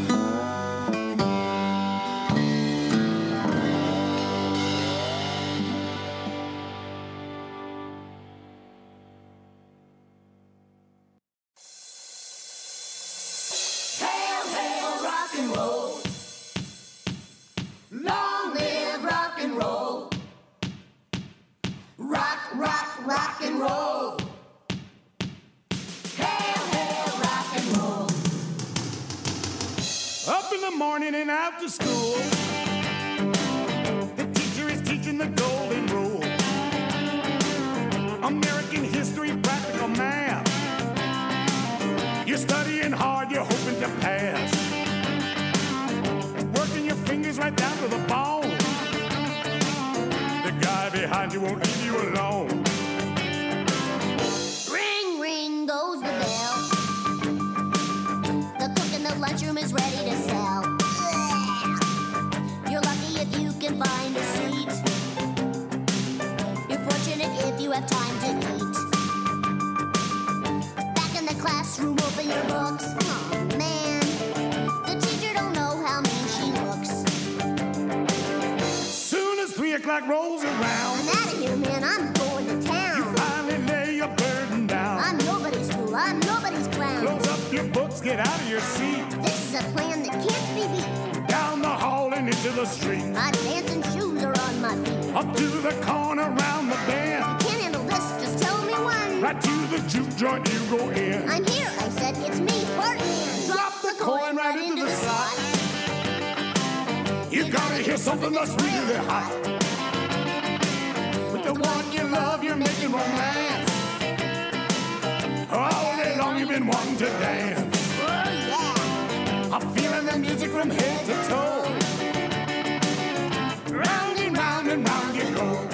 Hail, hail, rock and roll. Long live rock and roll. Rock, rock, rock and roll. Hail, hail, rock and roll. Up in the morning and out to school. The teacher is teaching the golden rule. American history, practical math. You're studying hard, you're hoping to pass. Working your fingers right down to the bone. The guy behind you won't leave you alone. Ring, ring goes the bell. The cook in the lunchroom is ready to sell. You're lucky if you can find a seat. You're fortunate if you have time to eat. Back in the classroom, open your books. Oh man, the teacher don't know how mean she looks. Soon as three o'clock rolls around, I'm out of here, man. I'm going to town. you finally lay your burden down. I'm nobody's fool. I'm nobody's clown. Close up your books, get out of your seat. This is a plan that can't be beat. Down the hall and into the street. My dancing shoes are on my feet. Up to the corner, round the bend. Can't handle this, just tell me when. Right to the juke joint you go in. I'm here, I said, it's me, Bartman. Drop the coin right into the slot. You gotta hear something that's really hot. With the one you love, you're making romance. All day long you've been wanting to dance. Oh yeah. I'm feeling the music from head to toe. Round and round and round you go.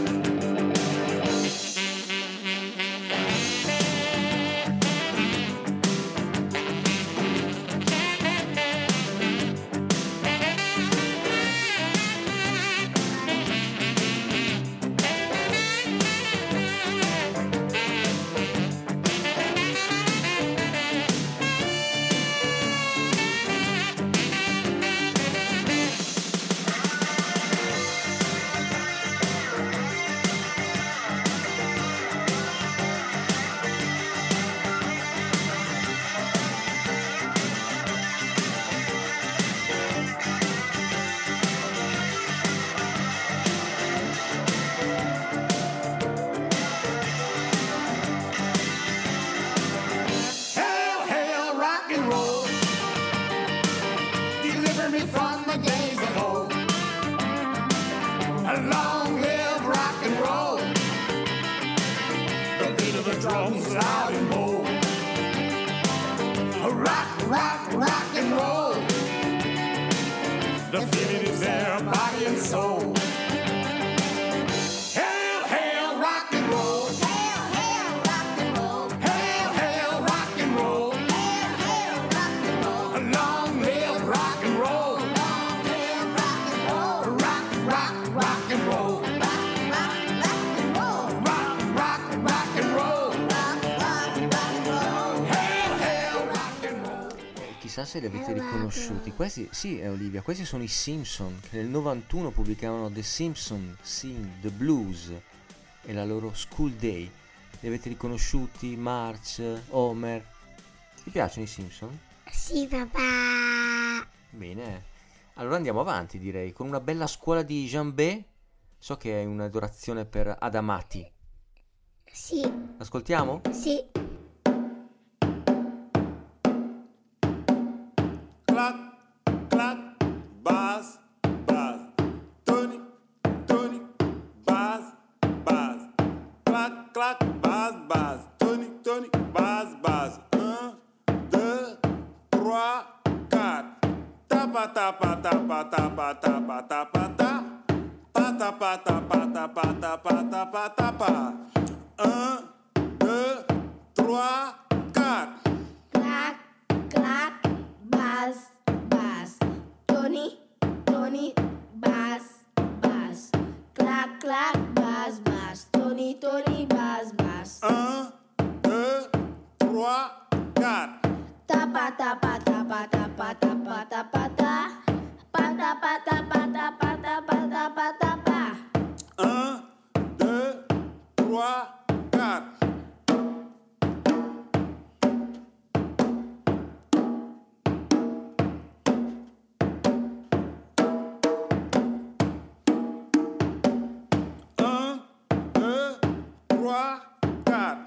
Hail, hail, rock and roll. Deliver me from the days of old. Long live rock and roll. The beat of the drums loud and bold. Rock, rock, rock and roll. The feeling is there, body and soul. Hail, hail, rock and roll. Hail, hail, rock and roll. Hail, hail, rock and roll. Hail, hail, rock and roll. Long live rock and roll. Long live rock and roll. Rock, rock, rock and roll. Rock, rock, rock and roll. Rock, rock, rock and roll. Rock, rock, rock and roll. Hail, hail, rock and roll. Chissà se li avete Eh, vado. riconosciuti. Questi, sì, è Olivia, questi sono i Simpson, che nel novantuno pubblicavano The Simpson Sing the Blues e la loro School Day. Li avete riconosciuti? Marge, Homer? Ti piacciono i Simpson? Sì, papà. Bene, allora andiamo avanti, direi, con una bella scuola di Jambé. So che è un'adorazione per Adamati. Sì, Ascoltiamo? sì. Clac, clac, buzz, buzz. Tony, Tony, buzz, buzz. Clac, clac, buzz, buzz. Tony, Tony, buzz, buzz. Un, deux, trois, quatre. Tapa, tapa, tapa, tapa, tapa, tapa, ta. Pata, pata, pata, pata, pata, pata, pa. Un, deux, trois, quatre. Clac, clac, buzz, buzz. Tony, Tony, buzz, buzz. Clac, clac, buzz, buzz. Tony, Tony, buzz, buzz. Un, deux, trois, quatre. Tapa, tapa, tapa, tapa, tapa, tapa, ta. Pata, pata, pata, pata, pata, pata, pa. Un, deux, trois, quatre. Un, deux, trois, quatre.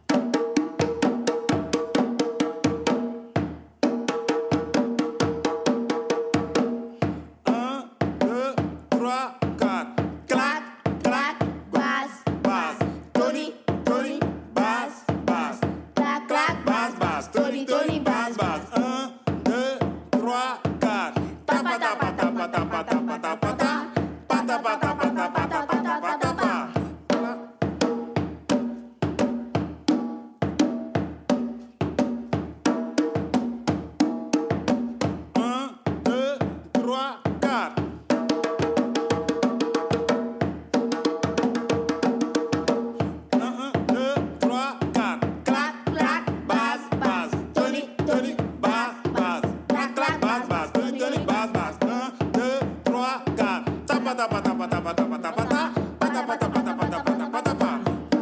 Un, deux, trois, quatre. Clac, clac, Buzz, buzz. Tony, Tony, buzz, buzz. clac, clac, Buzz, buzz. Tony, Tony, buzz, buzz. Un, deux, trois, quatre. Tapa, tapa, tapa, tapa, tapa, tapa, ta. Pata, pata, pata, pata, pata, pata, pa. Un, deux, trois, quatre. Un, un, deux, trois, quatre. Clac, clac, buzz, buzz. Tony, Tony, buzz, buzz. Clac, clac, buzz, buzz. Tony, Tony, buzz, buzz. Un, deux, trois, quatre. Tapa, tapa, tapa, tapa, tapa, tapa, ta. Pata, pata, pata, pata, pata, pata, pa.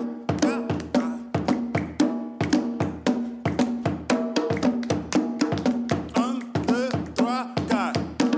Un, deux, trois, quatre.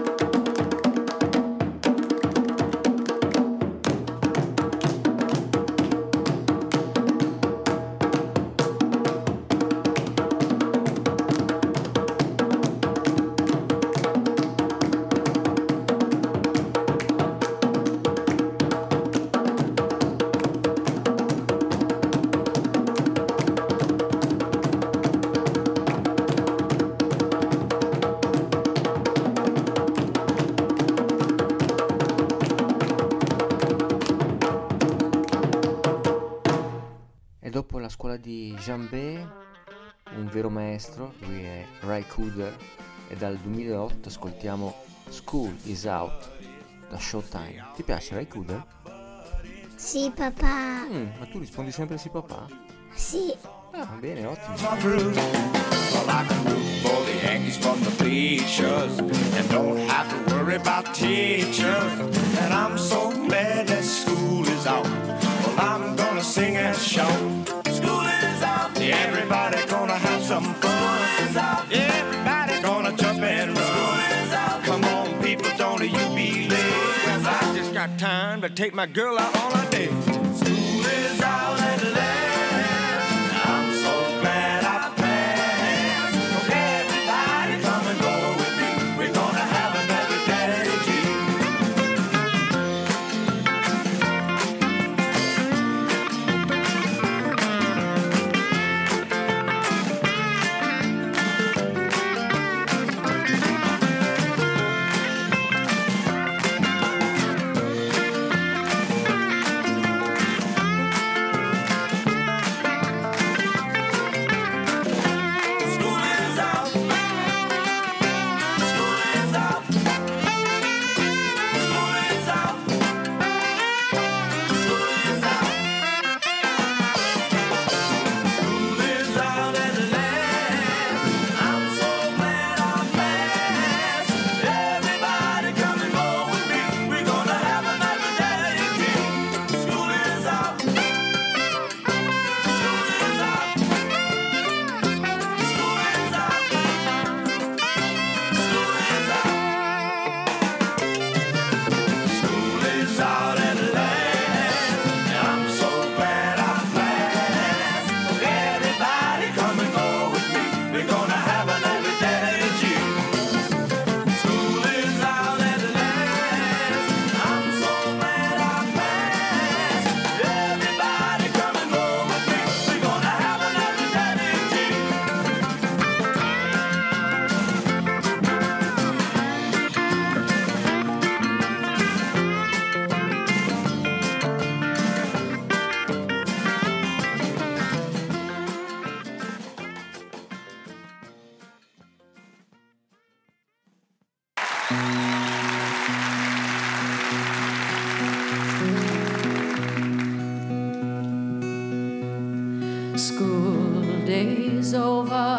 E dopo la scuola di Jambé, un vero maestro, lui è Ray Cooder, e dal duemilaotto ascoltiamo School is Out da Showtime. Ti piace Ray Cooder? Sì, papà. Mm, ma tu rispondi sempre sì papà? Sì. Ah, bene, ottimo. Well, I can root for the Yankees from the bleachers and don't have to worry about teachers. And I'm so glad that school is out. Well, I'm gonna sing and shout. School is out. Everybody gonna have some fun. School is out. Everybody gonna jump and run. School is out. Come on, people, don't you be late. 'Cause I just got time to take my girl out on a date. School is out at last. I'm so glad I passed. Everybody come and go with me. We're gonna have another daddy G. School days over.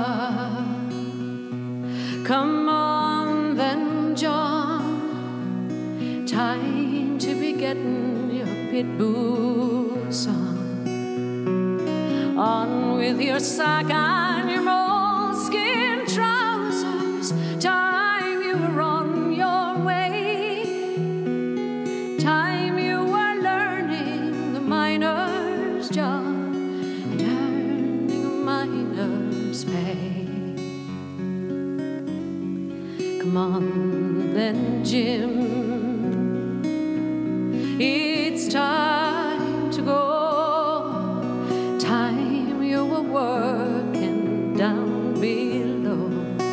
Come on then, John. Time to be getting your pit boots on. On with your sock and your moleskin trousers. Time you were on your way. Time you were learning the miner's job. Miner's pay. Come on then, Jim. It's time to go. Time you were working down below.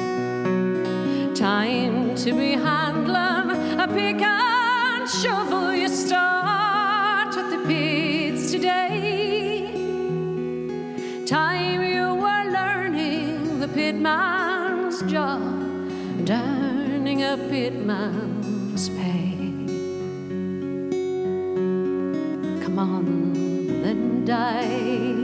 Time to be handling a pick and shovel. You start at the pits today. Time you were learning the pitman's job and earning a pitman's pay. Come on, then die.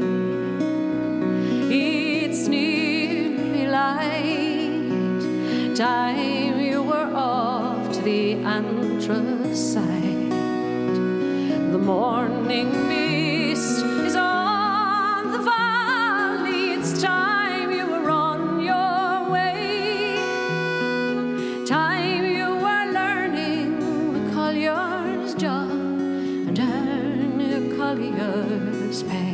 It's nearly light. Time you were off to the anthracite. The morning mist is on the valley. It's time you were on your way. Time you were learning the collier's job and earning a collier's pay.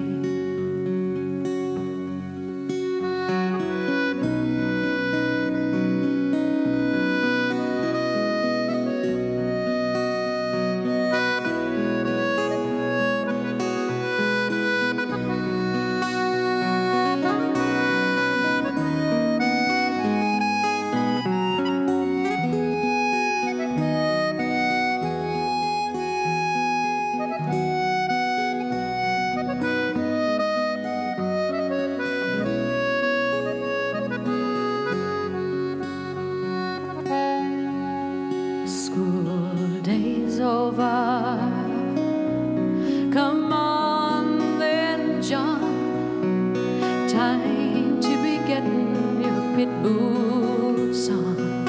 School days over. Come on then, John. Time to be getting your pit boots on.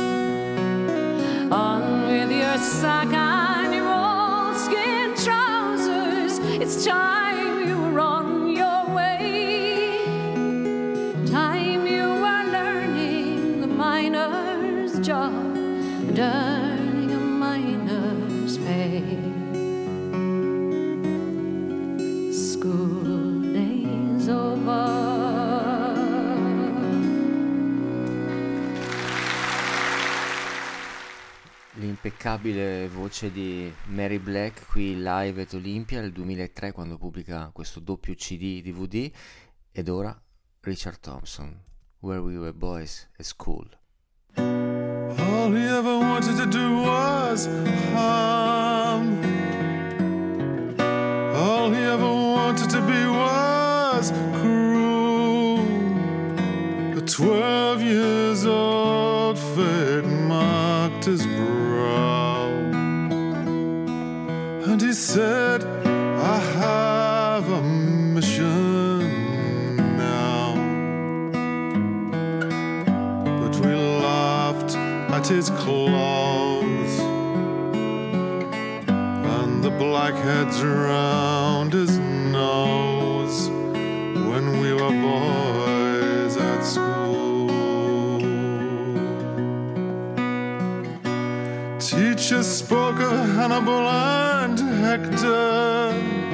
On with your sock and your moleskin trousers. It's time you were on your way. Time you were learning the miner's job and earning a miner's pay. School days over. L'impeccabile voce di Mary Black qui live at Olympia nel duemilatré, quando pubblica questo doppio C D D V D. Ed ora Richard Thompson, Where We Were Boys at School. All he ever wanted to do was harm. All he ever wanted to be was cruel. At twelve years old, fate marked his brow, and he said, I have a mission now. But we laughed at his clothes and the blackheads around his nose when we were boys at school. Teachers spoke of Hannibal and Hector.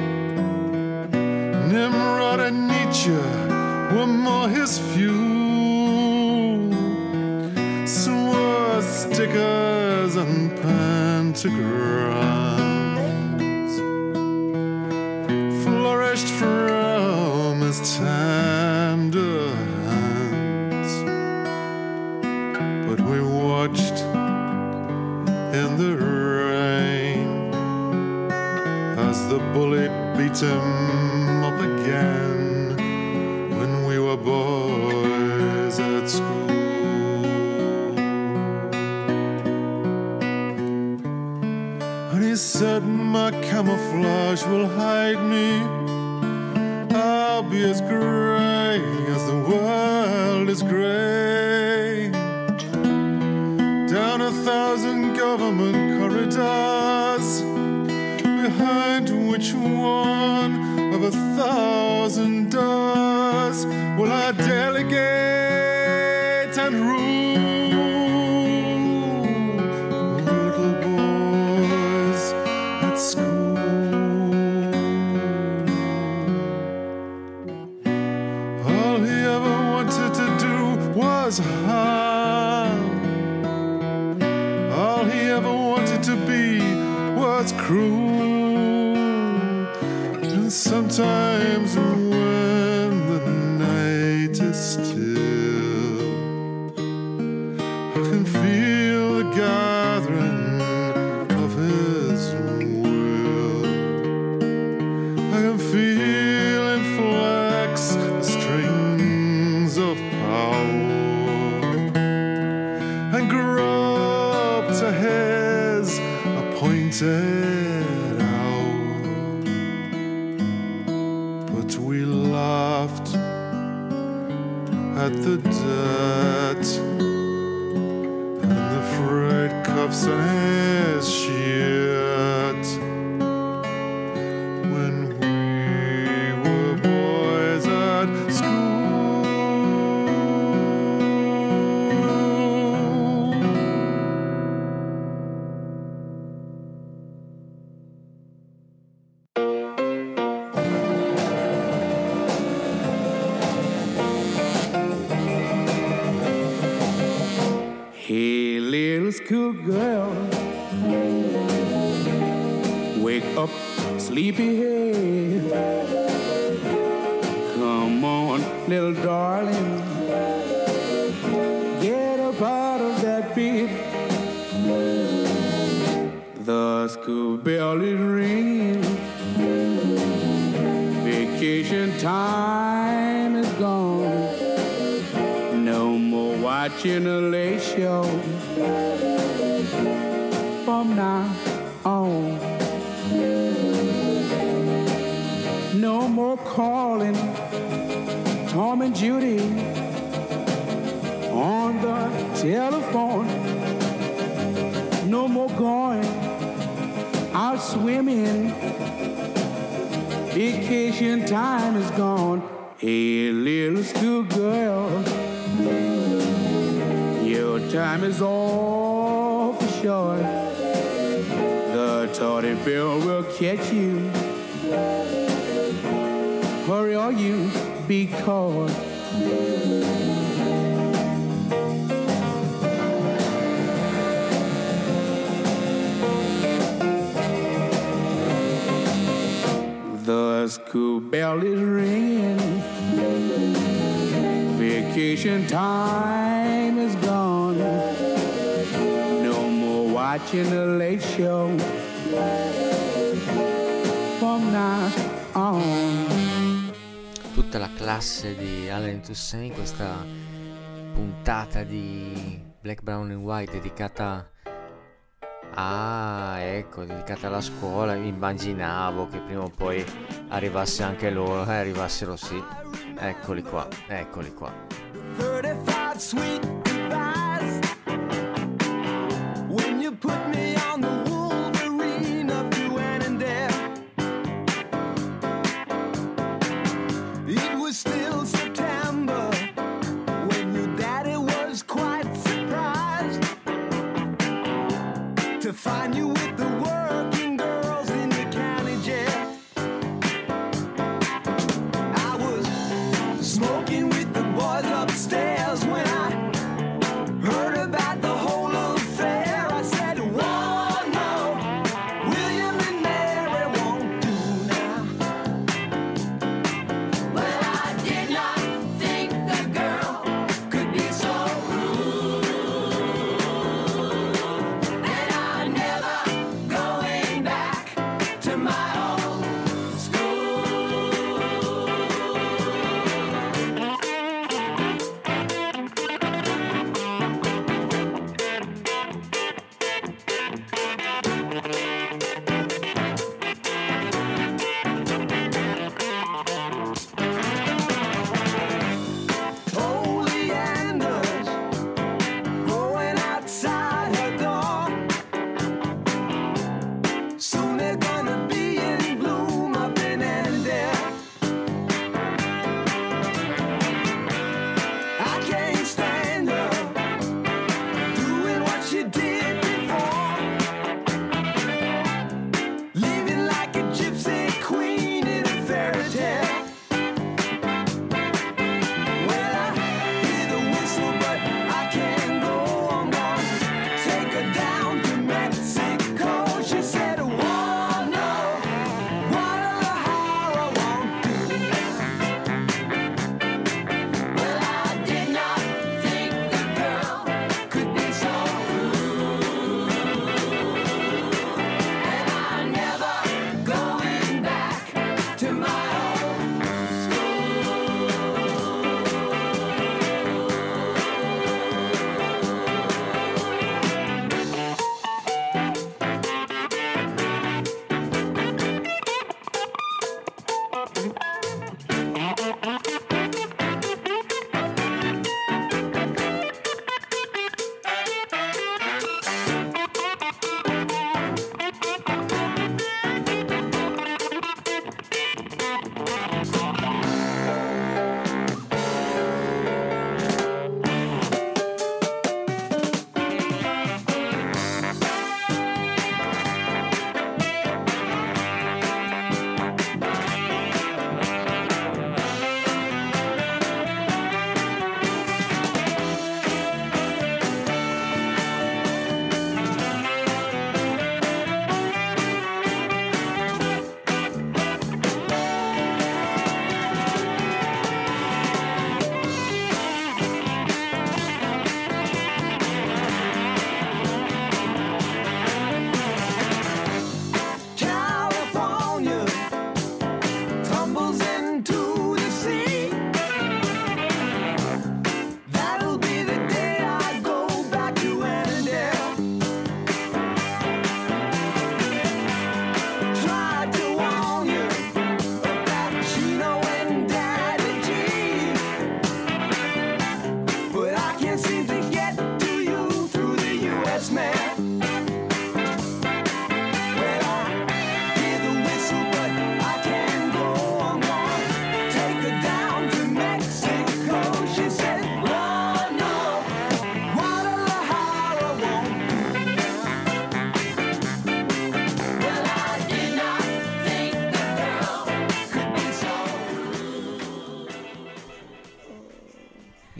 Nimrod and Nietzsche were more his fuel. Swastikas and pentagrams flourished from his tender hands. But we watched in the rain as the bullet beat him up again when we were boys at school. camouflage will hide me. I'll be as gray as the world is gray. Down a thousand government corridors, behind which one of a thousand doors will I delegate and rule little boys at school. All he ever wanted to do was harm. All he ever wanted to be was cruel. And sometimes when the night is still, I can feel the gathering of his will. I can feel him flex the strings of power and grope to his appointed hour. But we laughed at the debt and the freight cuffs on his shirt when we were boys at school. Hey, little schoolgirl, wake up, sleepyhead. Come on, little darling, get up out of that bed. The school bell is ringing. Vacation time is gone. No more watching a late show. From now on, no more calling Tom and Judy on the telephone. No more going out swimming. Vacation time is gone. Hey, little schoolgirl, your time is all for short. The tardy bell will catch you. Hurry or you be caught. The school bell is ringing. Vacation time is gone. No more watching the late show. From now on. Tutta la classe di Allen Toussaint in questa puntata di Black, Brown and White dedicata Ah, ecco, dedicata alla scuola. Immaginavo che prima o poi arrivasse anche loro, eh, arrivassero sì. Eccoli qua, eccoli qua. thirty-five sweet goodbyes. When you put me on the Wolverine of Duane and Dare, it was still September when your daddy was quite surprised to find you with the working girls in the county jail. I was smoking with the boys upstairs when I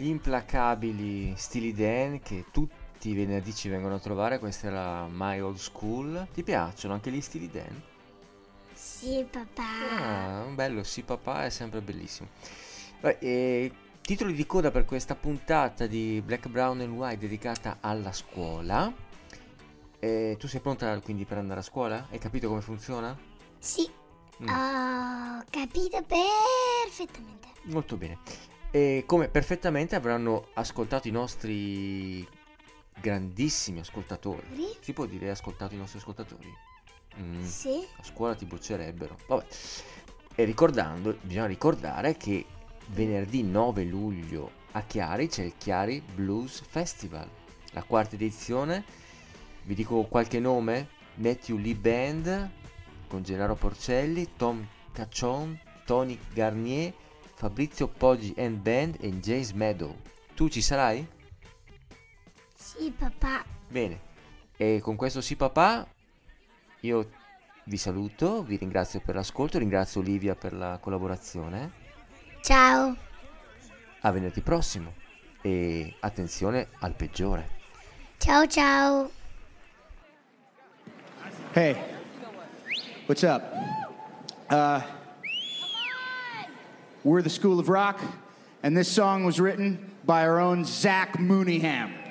Gli implacabili Steely Dan che tutti i venerdì ci vengono a trovare, questa è la My Old School. Ti piacciono anche gli Steely Dan? Sì, papà. Ah, bello, sì papà, è sempre bellissimo. Beh, e titoli di coda per questa puntata di Black, Brown and White dedicata alla scuola. E tu sei pronta quindi per andare a scuola? Hai capito come funziona? Sì, Mm. ho capito perfettamente. Molto bene. E come perfettamente avranno ascoltato i nostri grandissimi ascoltatori. Sì. Si può dire ascoltato i nostri ascoltatori? Mm. Sì. A scuola ti boccerebbero. Vabbè. E ricordando, bisogna ricordare che venerdì nove luglio a Chiari c'è il Chiari Blues Festival, la quarta edizione. Vi dico qualche nome: Matthew Lee Band con Gennaro Porcelli, Tom Caccion, Tony Garnier, Fabrizio Poggi and Band e James Meadow. Tu ci sarai? Sì, papà. Bene, e con questo sì papà io vi saluto, vi ringrazio per l'ascolto, ringrazio Olivia per la collaborazione. Ciao. A venerdì prossimo e attenzione al peggiore. Ciao, ciao. Hey, what's up? Uh, we're the School of Rock, and this song was written by our own Zach Mooneyham.